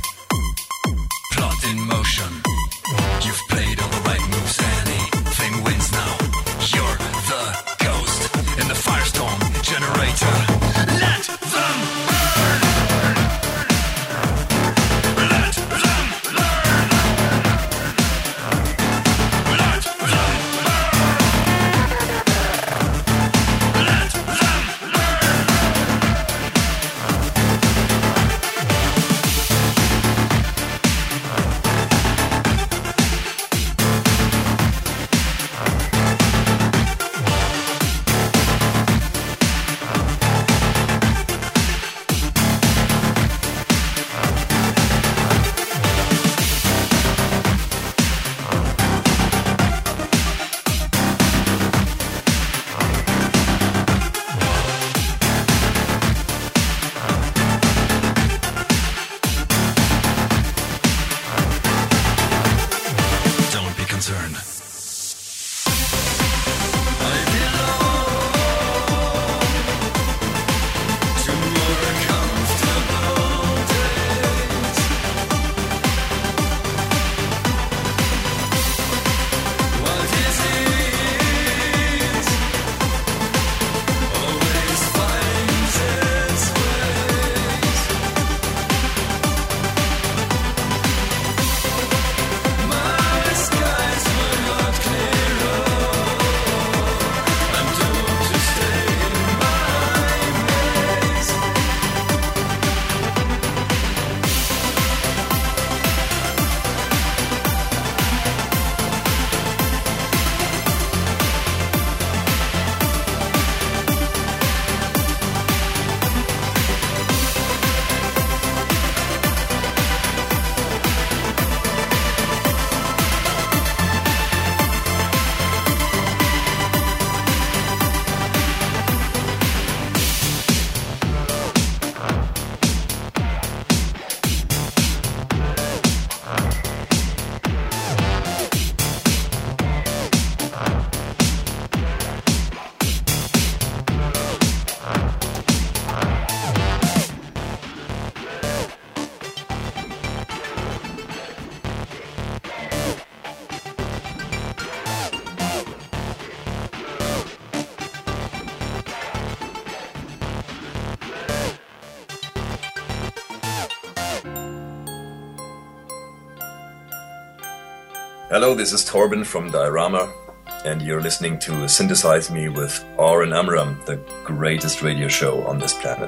plot in motion. You've played all the right moves, anything wins now. You're the ghost in the firestorm generator. Let them burn. Let them learn. Let them learn. Let them learn. Hello, this is Torben from Diorama, and you're listening to Synthesize Me with Oren Amram, the greatest radio show on this planet.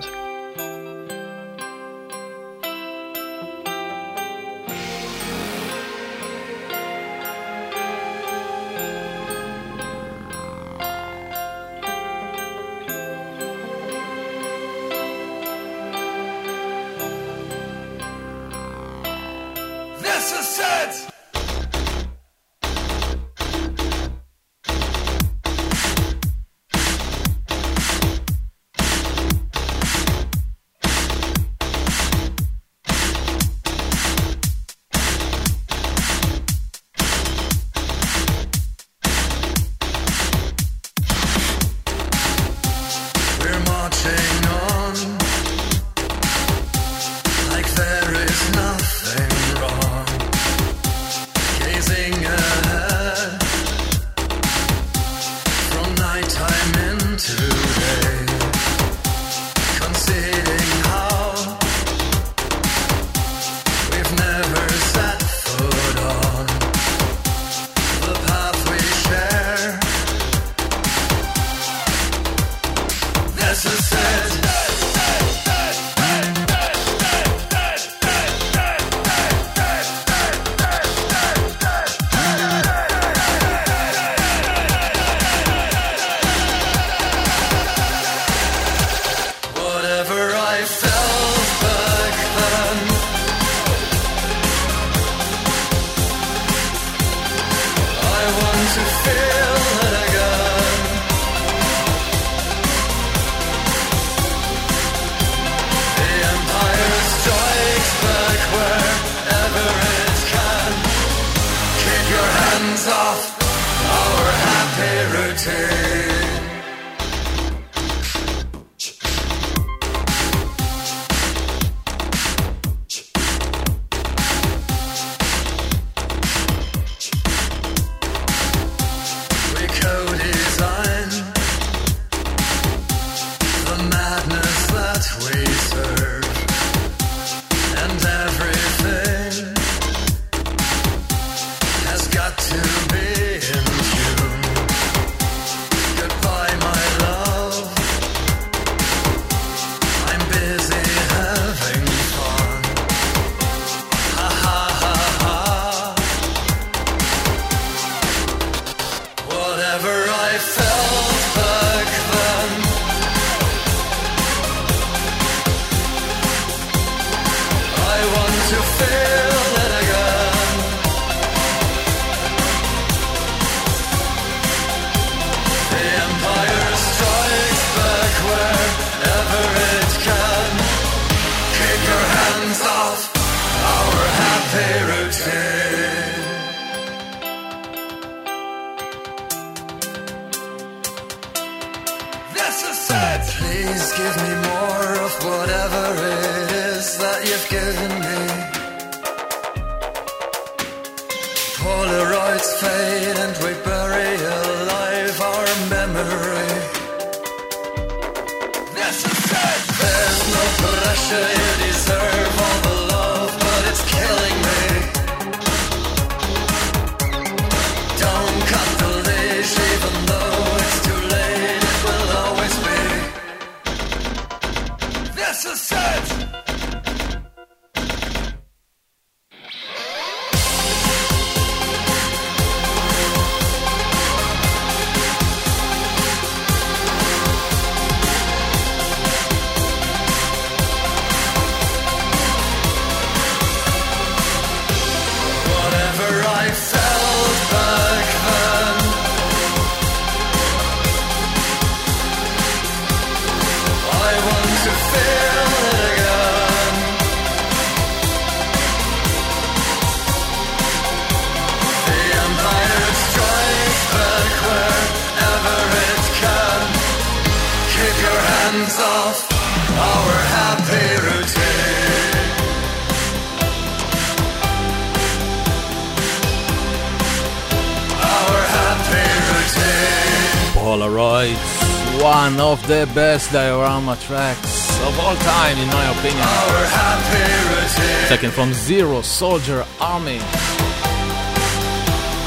Polaroids, one of the best diorama tracks of all time in my opinion. Taken from Zero Soldier Army.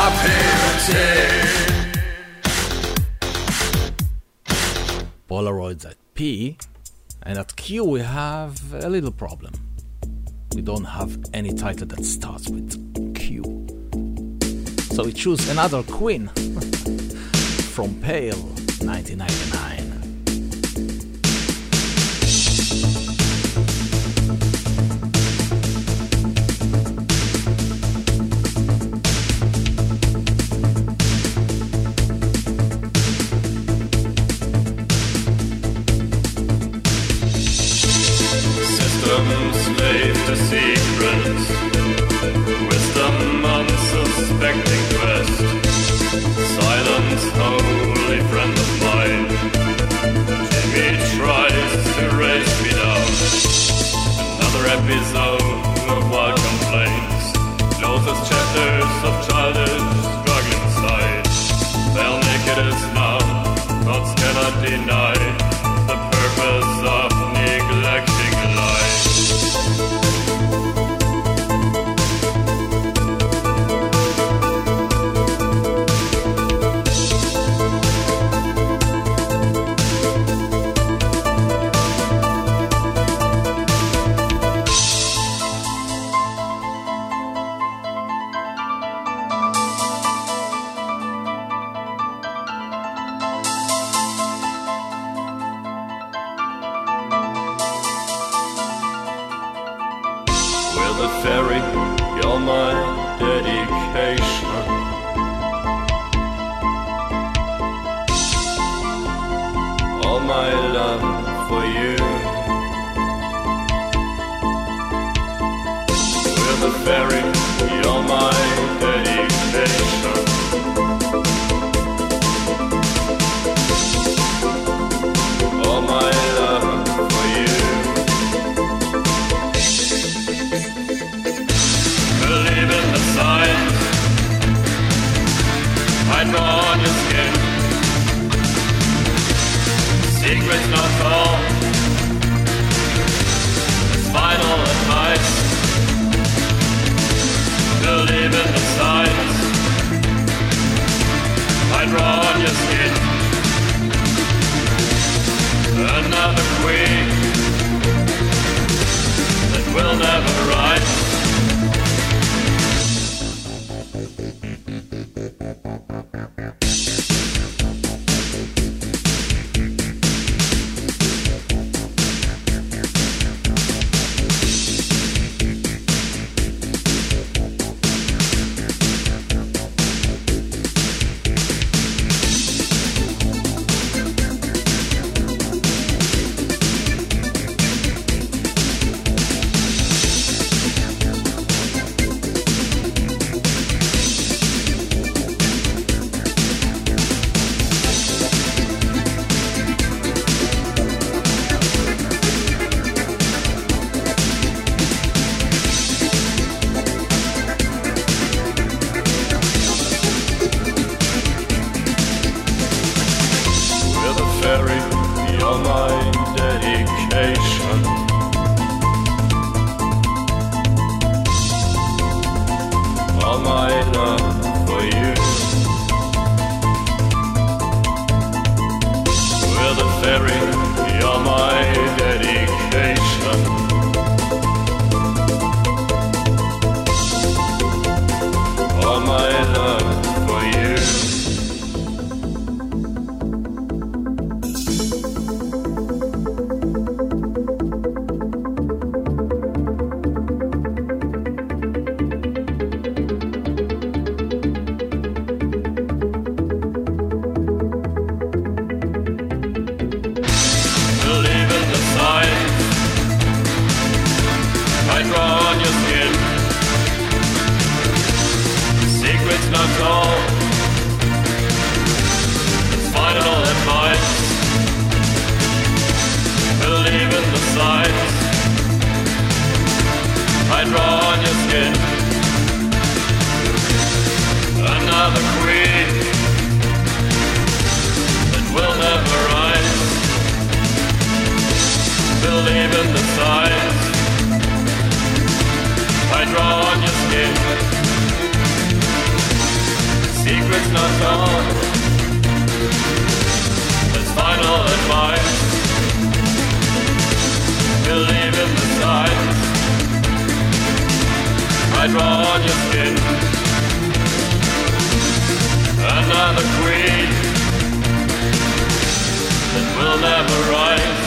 Polaroids at P, and at Q we have a little problem. We don't have any title that starts with Q. So we choose another Queen from Pale, 1999. Slave to secrets, wisdom unsuspecting quest, silence holy friend of mine. Jimmy tries to race me down. Another episode of wild complaints, closest chapters of childish struggling sight. They'll naked as now, gods cannot deny the purpose of neglecting life. Fairy, you're my dedication. All my love for you. We're the fairy, you're my dedication. All my love for you. Believe in the signs I draw on your skin. Secrets not told. It's final advice. Believe in the signs I draw on your skin. Another queen that will never rise. it's not done. It's final advice. Believe in the signs I draw on your skin. Another queen that will never rise.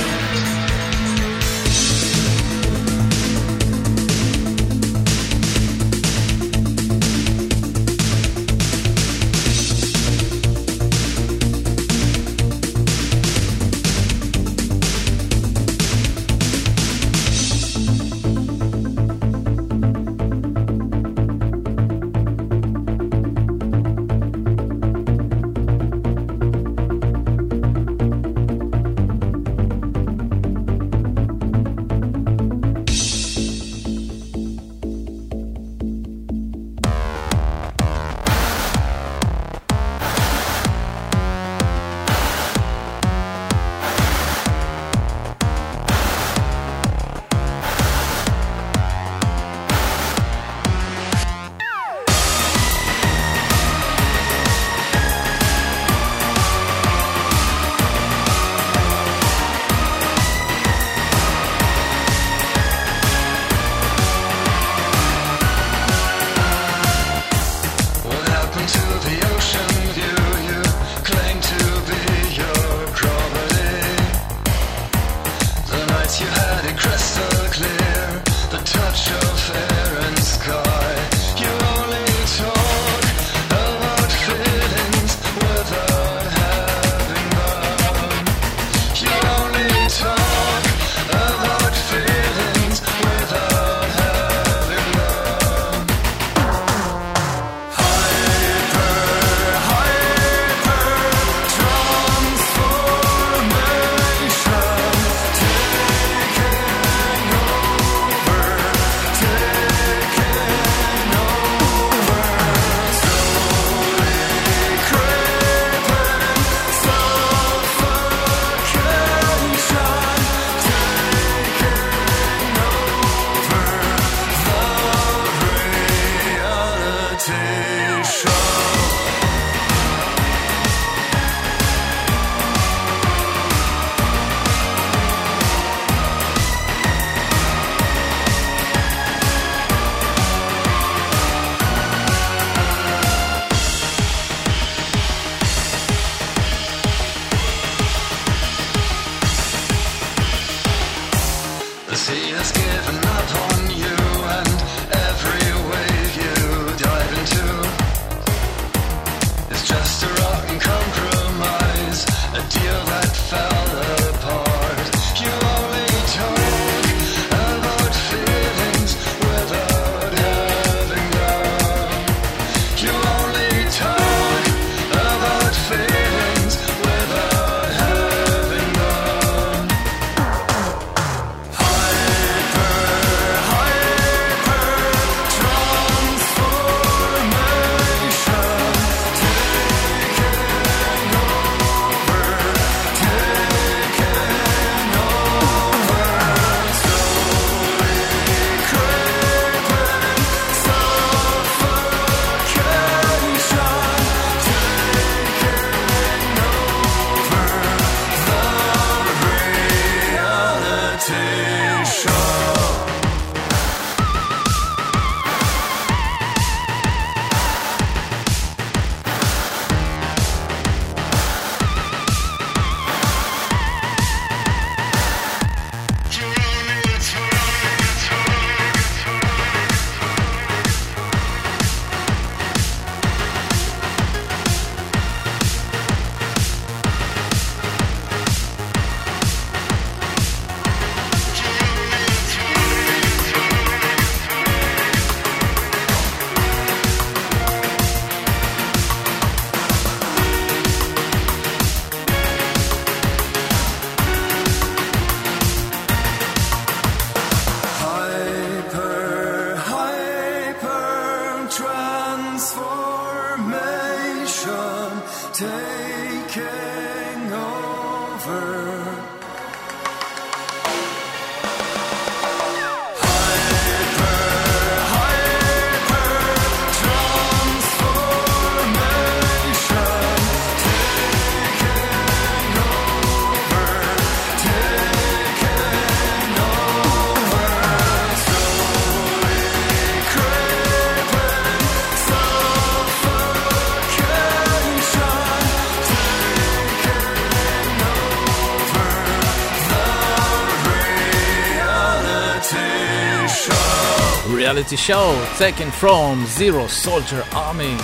reality show taken from Zero Soldier Army.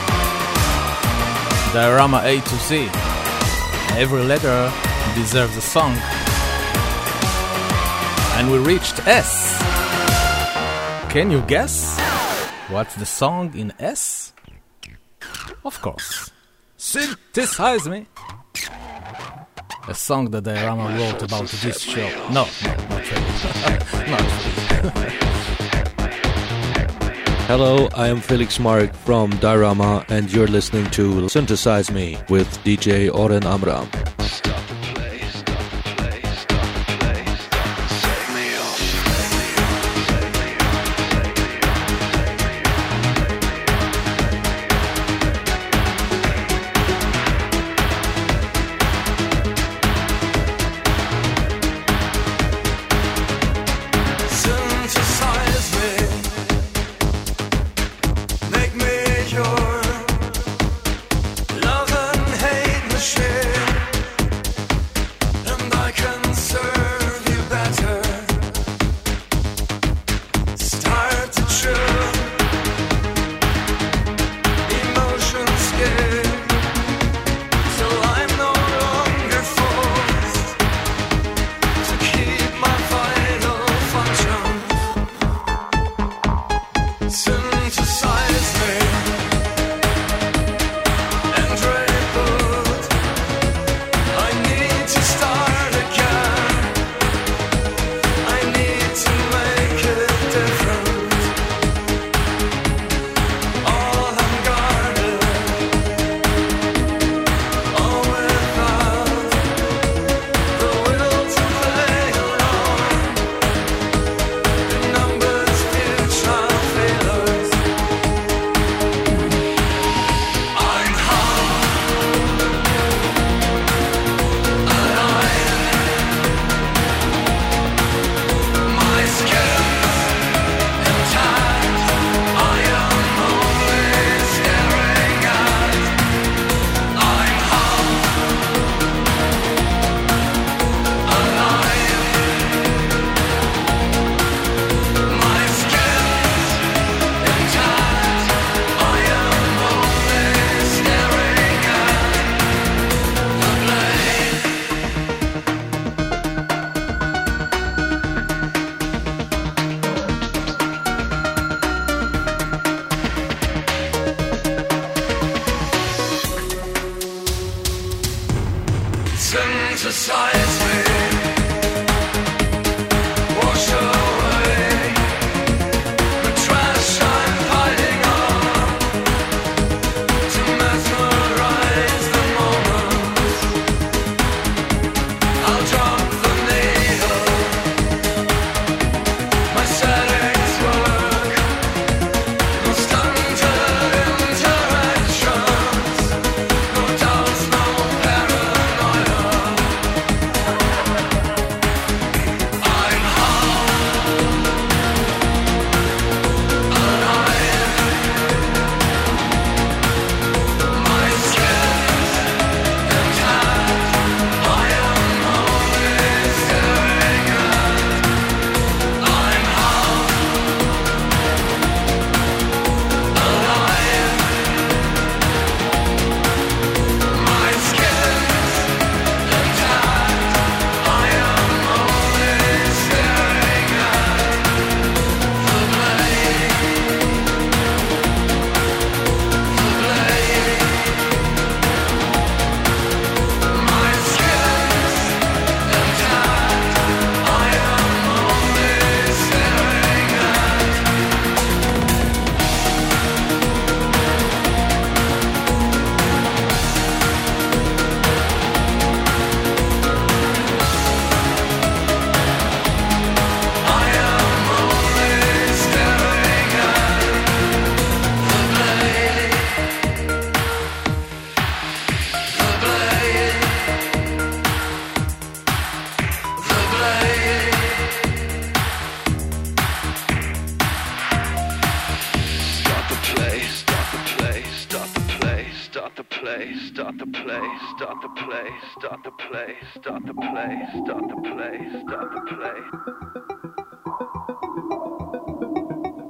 Diorama A to Z. Every letter deserves a song. And we reached S. Can you guess what's the song in S? Of course. Synthesize Me. A song that Diorama wrote about this show. No, not really. Not really. Hello, I am Felix Mark from Diorama, and you're listening to Synthesize Me with DJ Oren Amram. start the play, start the play, start the play, start the play, start the play.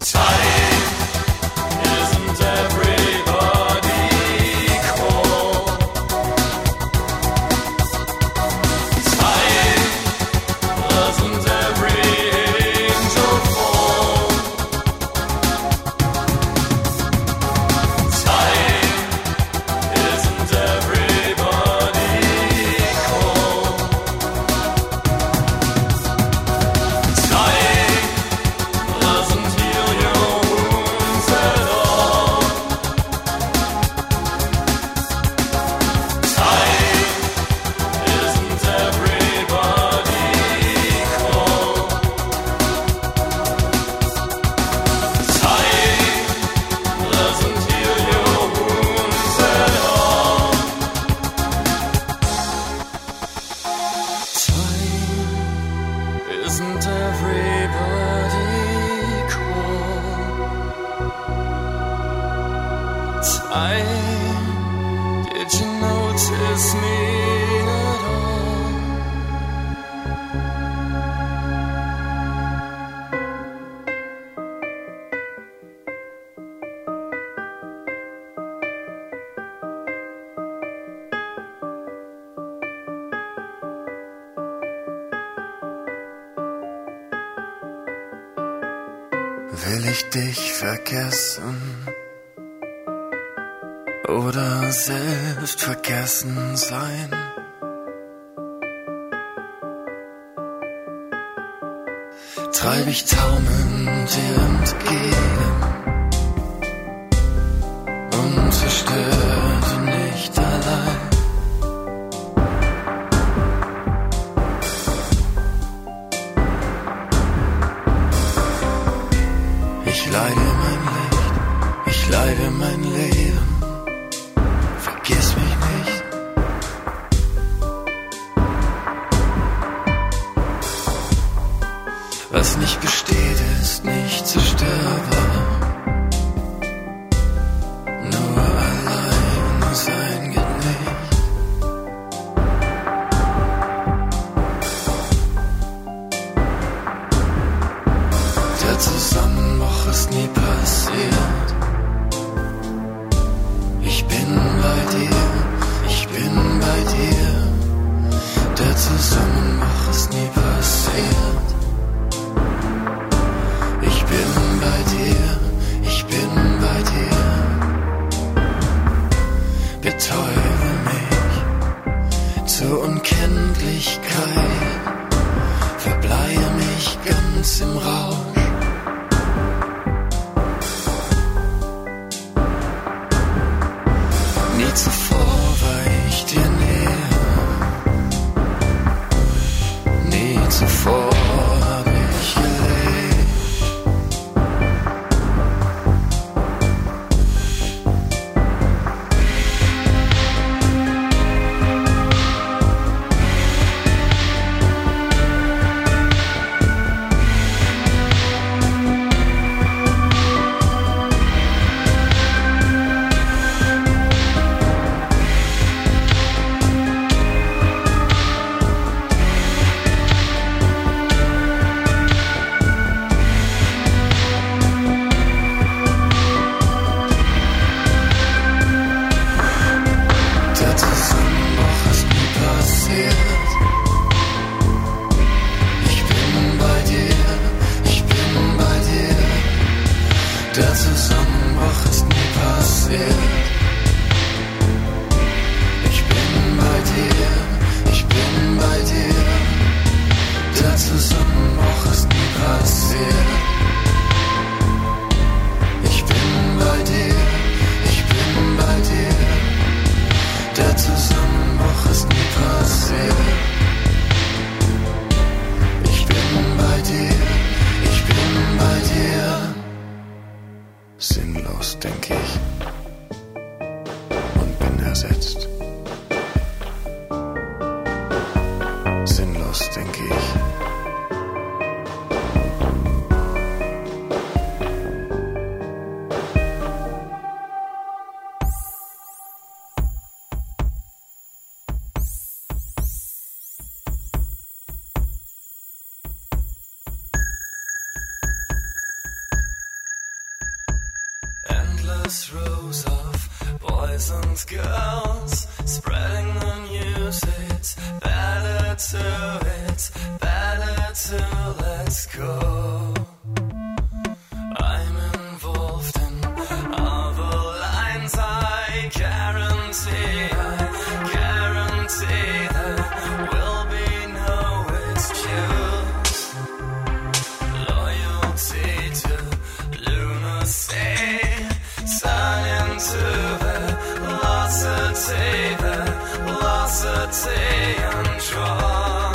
Will ich dich vergessen oder selbst vergessen sein? Treib ich taumelnd dir entgegen und zerstöre du nicht allein. Ich leide mein Licht, ich leide mein Leben, vergiss mich nicht. Was nicht besteht, ist nicht zerstörbar. Nur allein sein geht nicht. Der Zusammenbruch ist nie passiert. Ich bin bei dir, ich bin bei dir. Der Zusammenbruch ist nie passiert. Ich bin bei dir, ich bin bei dir. Betäube mich zur Unkenntlichkeit, verbleihe mich ganz im Rausch. Nie zuvor war ich dir näher, nie zuvor hab ich gelebt. Der Zusammenbruch ist nie passiert. Ich bin bei dir, ich bin bei dir. Der Zusammenbruch ist nie passiert. Ich bin bei dir, ich bin bei dir. Der Zusammenbruch ist nie passiert. Ich bin bei dir, ich bin bei dir. Sinnlos, denk ich, und bin ersetzt. Sinnlos, denk ich. endless rows of boys and girls spreading the news. It's better to let's go. I'm involved in other lines. I guarantee there will be no excuse. Loyalty to lunacy turn into velocity and draw.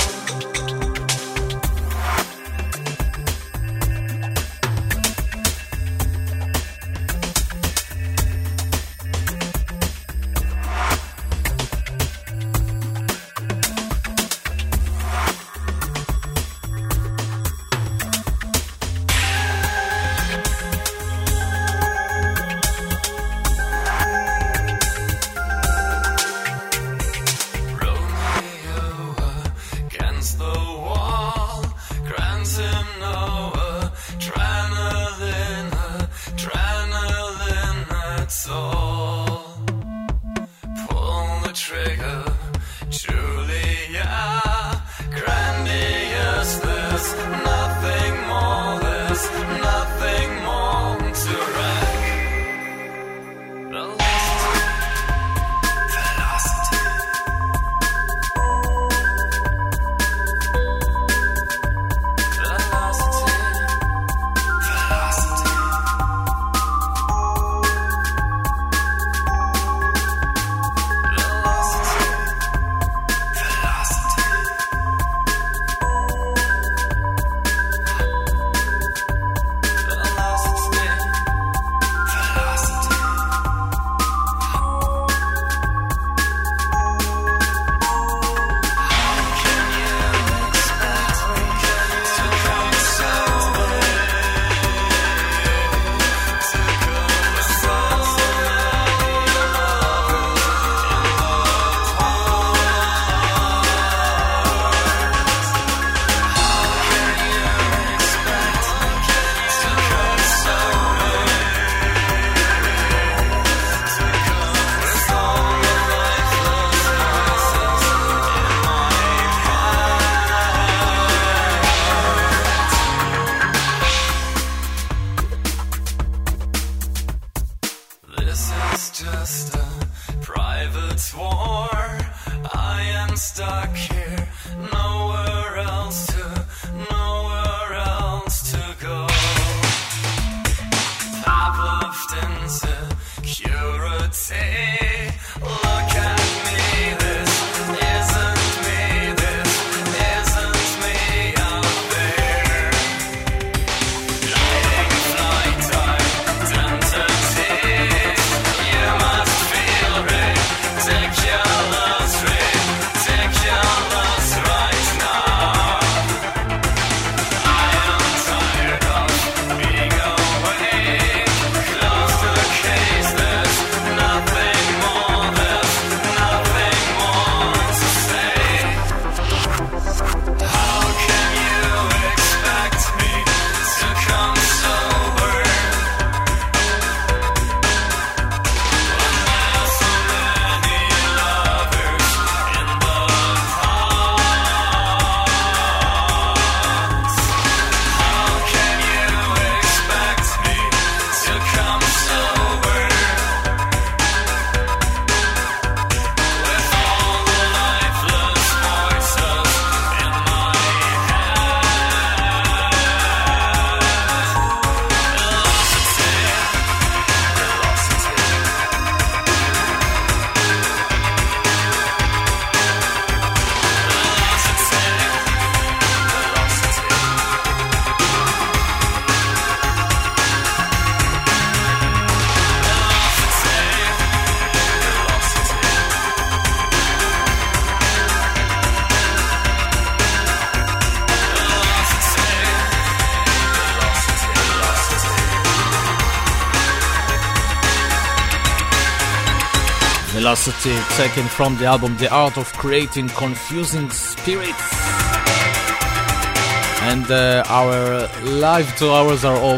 Velocity, taken from the album The Art of Creating Confusing Spirits. And our live 2 hours are over.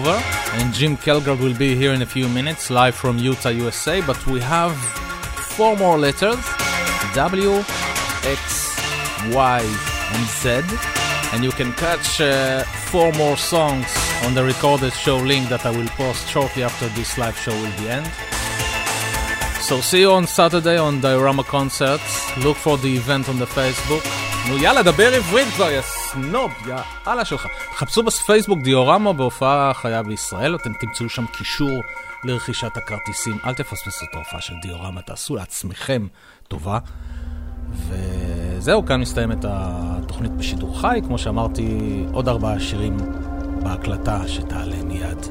And Jim Kelgar will be here in a few minutes, live from Utah, USA. But we have 4 more letters, W, X, Y, and Z. And you can catch 4 more songs on the recorded show link that I will post shortly after this live show will be end. So see you on Saturday on Diorama Concerts. Look for the event on the Facebook. נו יאללה, דבר עברית כבר, יא סנוב, יאללה שלך. חפשו בפייסבוק דיורמה בהופעה חיה בישראל, אתם תמצאו שם קישור לרכישת הכרטיסים. אל תפספסו את ההופעה של דיורמה, תעשו לעצמכם טובה. וזהו, כאן מסתיימת התוכנית בשידור חי. כמו שאמרתי, עוד 4 שירים בהקלטה שתעלה מיד.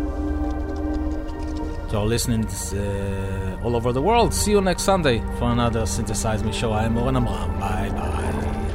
So listening all over the world. See you next Sunday for another Synthesize Me show. I am Oren Amram. Bye bye.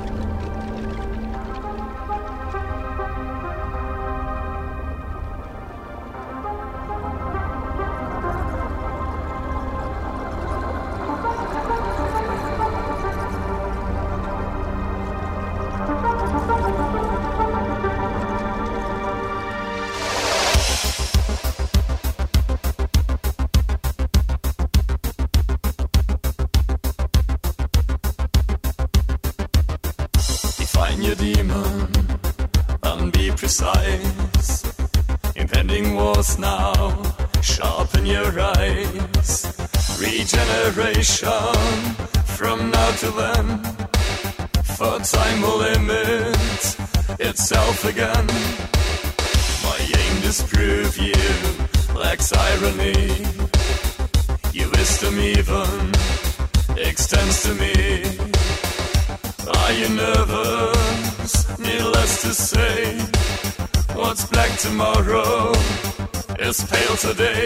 Impending wars now, sharpen your eyes. Regeneration from now to then, for time will limit itself again. My aim disprove you lacks irony. Your wisdom even extends to me. Are you nervous? Needless to say, what's black tomorrow is pale today.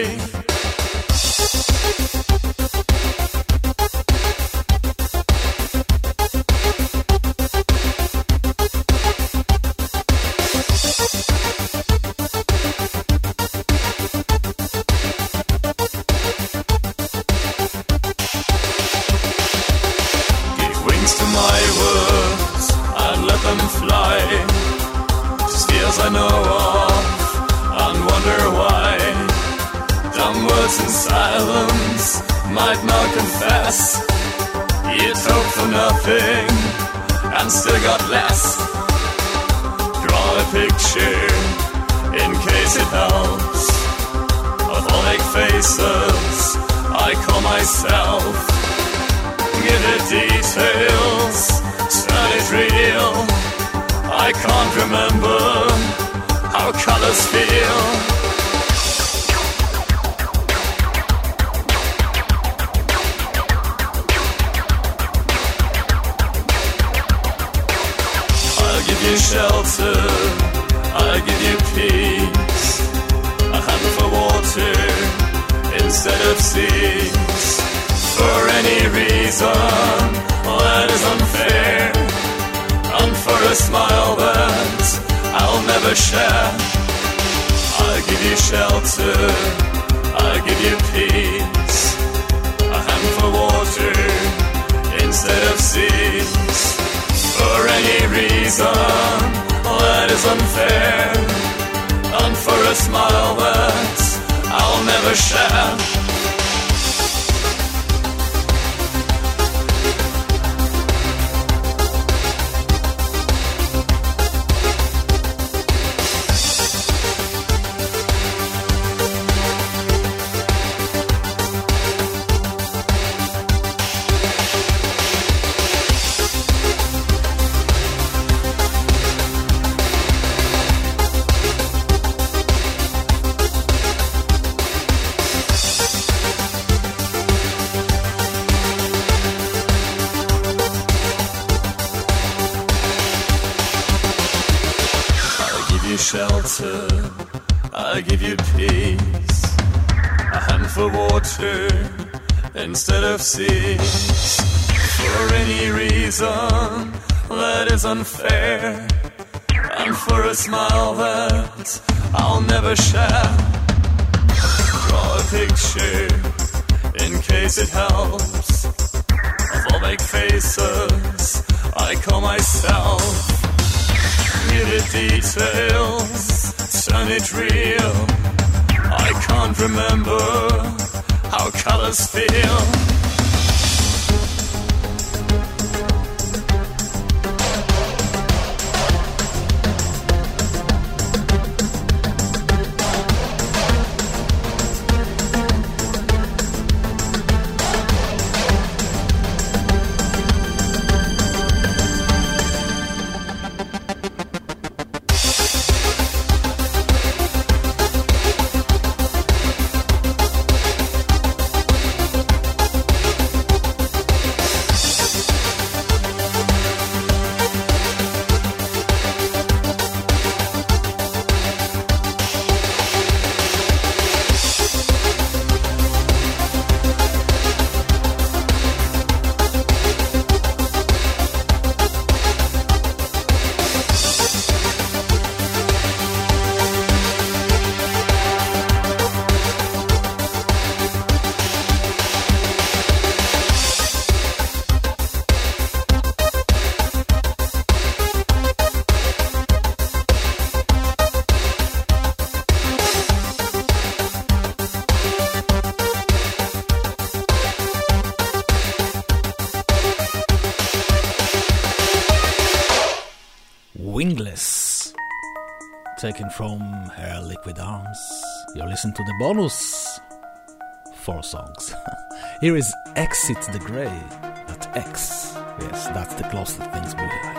Give wings to my words and let them fly. Fears I know of and wonder why. Dumb words in silence might not confess. You'd hope for nothing and still got less. Draw a picture in case it helps of all fake faces I call myself. Give it details, turn it real. I can't remember how colors feel. I'll give you shelter, I'll give you peace, a hand for water instead of seas. For any reason that is unfair, and for a smile that I'll never share. I'll give you shelter, I'll give you peace, a hand for water instead of seas. For any reason that is unfair, and for a smile that I'll never share. Shelter, I'll give you peace, a hand for water instead of seas. For any reason that is unfair, and for a smile that I'll never share. Draw a picture in case it helps of all fake faces I call myself. Give it details, turn it real. taken from her Liquid Arms. You're listening to the bonus 4 songs. Here is Exit the Grey. That X. Yes, that's the closest things we find.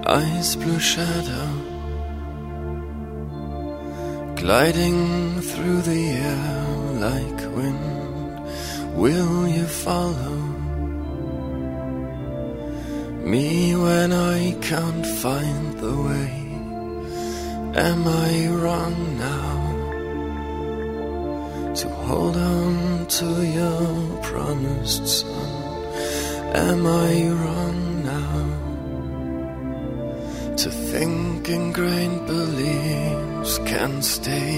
ice blue shadow gliding through the air like wind. Will you follow me when I can't find the way? Am I wrong now to hold on to your promised son? Am I wrong now to think ingrained beliefs can stay?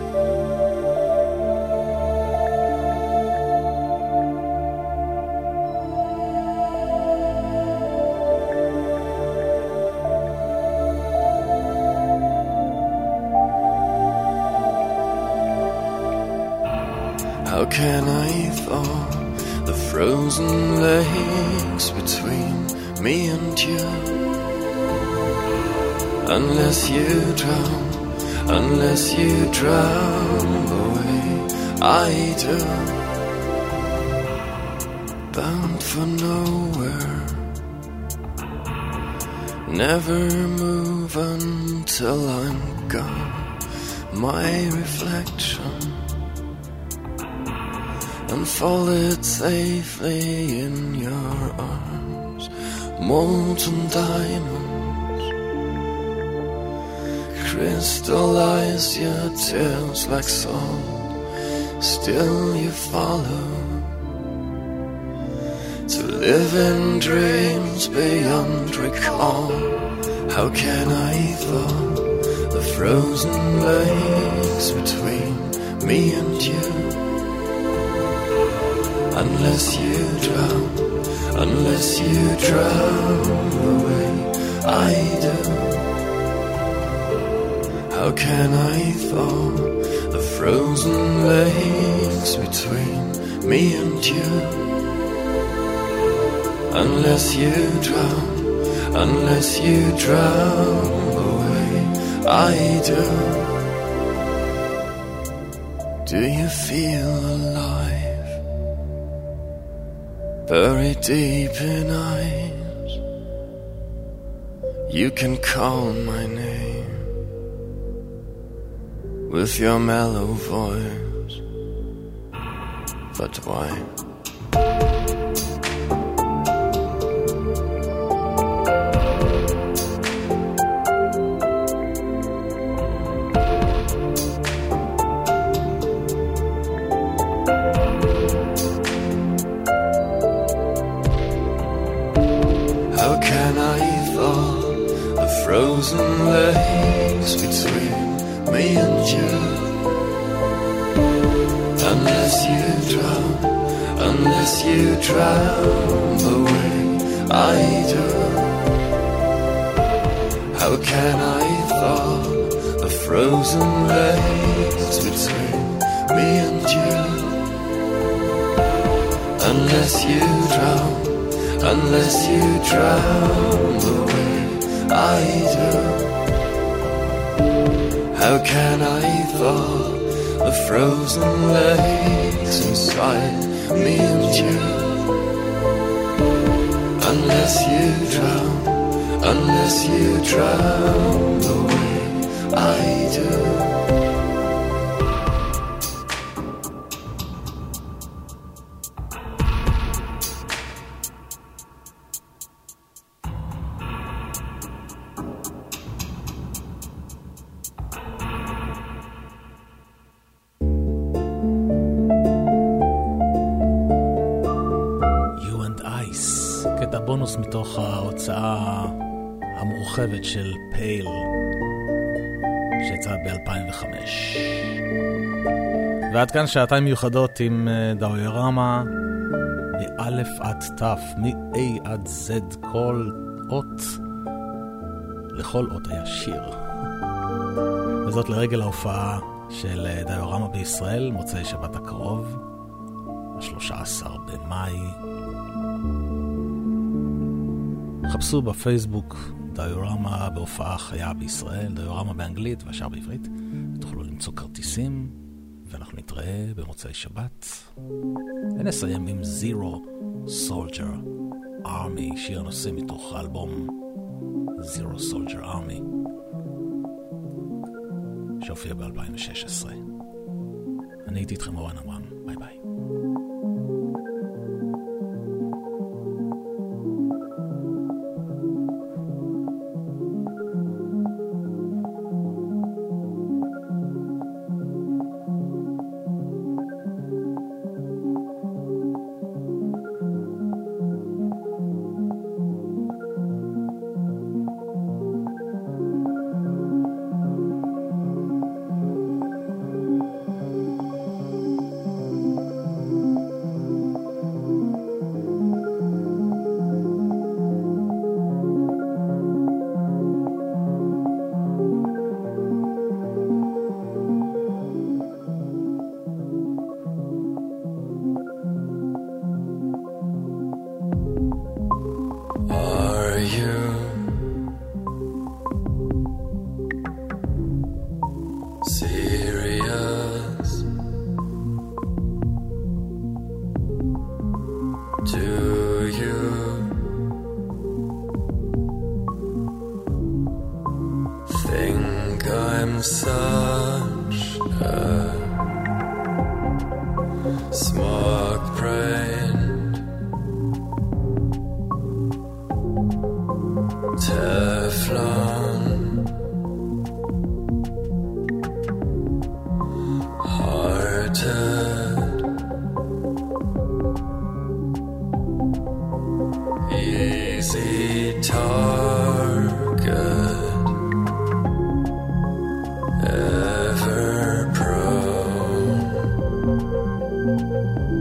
How can I thaw the frozen lakes between me and you? Unless you drown the way I do, bound for nowhere, never move until I'm gone. My reflection unfolded safely in your arms, molten diamonds crystallize your tears like salt. Still you follow to live in dreams beyond recall. How can I thaw the frozen lakes between me and you? Unless you drown the way I do. How can I thaw the frozen lakes between me and you? Unless you drown the way I do. Do you feel alive? Buried deep in eyes, you can call my name with your mellow voice, but why? Frozen lakes between me and you. Unless you drown the way I do. How can I thaw the frozen lakes between me and you? Unless you drown the way I do. How can I thaw the frozen lakes inside me and you? Unless you drown the way I do. בונוס מתוך ההוצאה המורחבת של פייל שיצאה ב-2005. ועד כאן שעתיים מיוחדות עם דיורמה מאלף עד תף, מ-A עד Z, כל אות, לכל אות היה שיר. וזאת לרגל ההופעה של דיורמה בישראל, מוצאי שבת הקרוב, 13 במאי. חפשו בפייסבוק דיורמה בהופעה חיה בישראל, דיורמה באנגלית והשאר בעברית, ותוכלו למצוא כרטיסים, ואנחנו נתראה במוצאי שבת. ונסיים עם Zero Soldier Army, שיר נושא מתוך האלבום Zero Soldier Army, שהופיע ב-2016. אני הייתי איתכם אורן עמרם, ביי ביי. Ever prone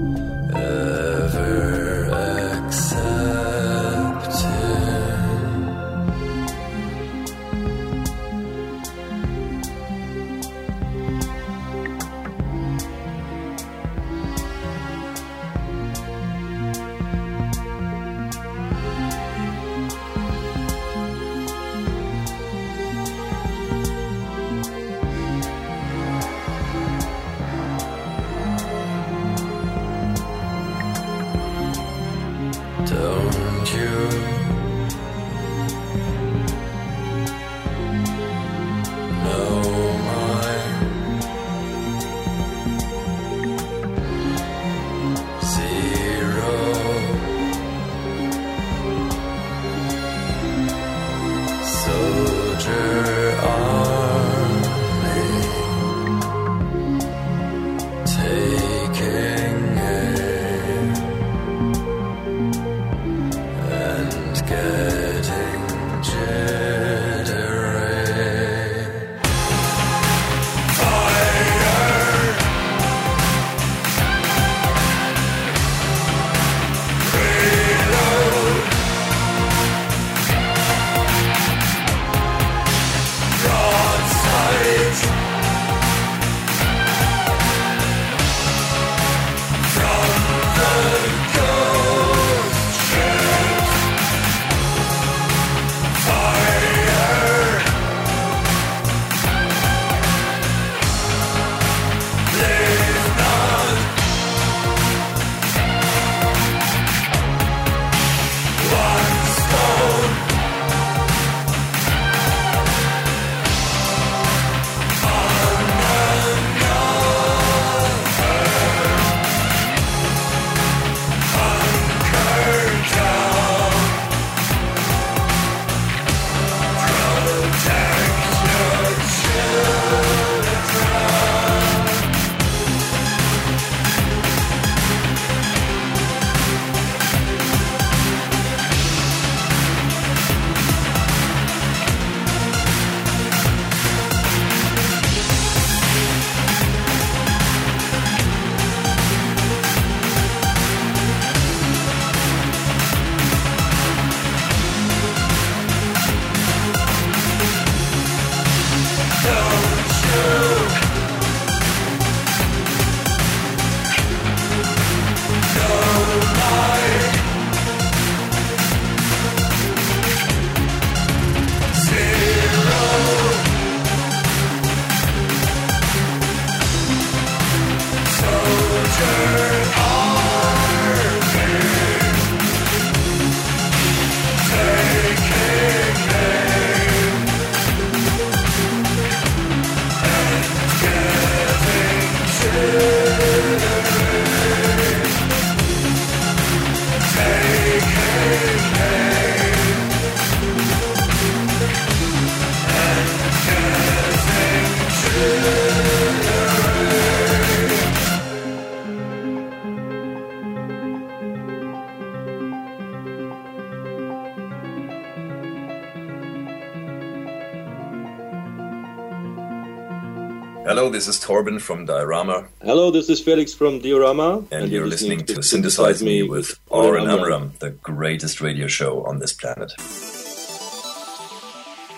Hello, this is Torben from Diorama. Hello, this is Felix from Diorama. And you're listening to Synthesize Me with Oren Amram, the greatest radio show on this planet.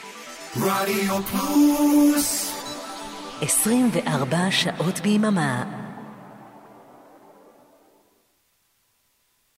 רדיו פלוס 24 שעות ביממה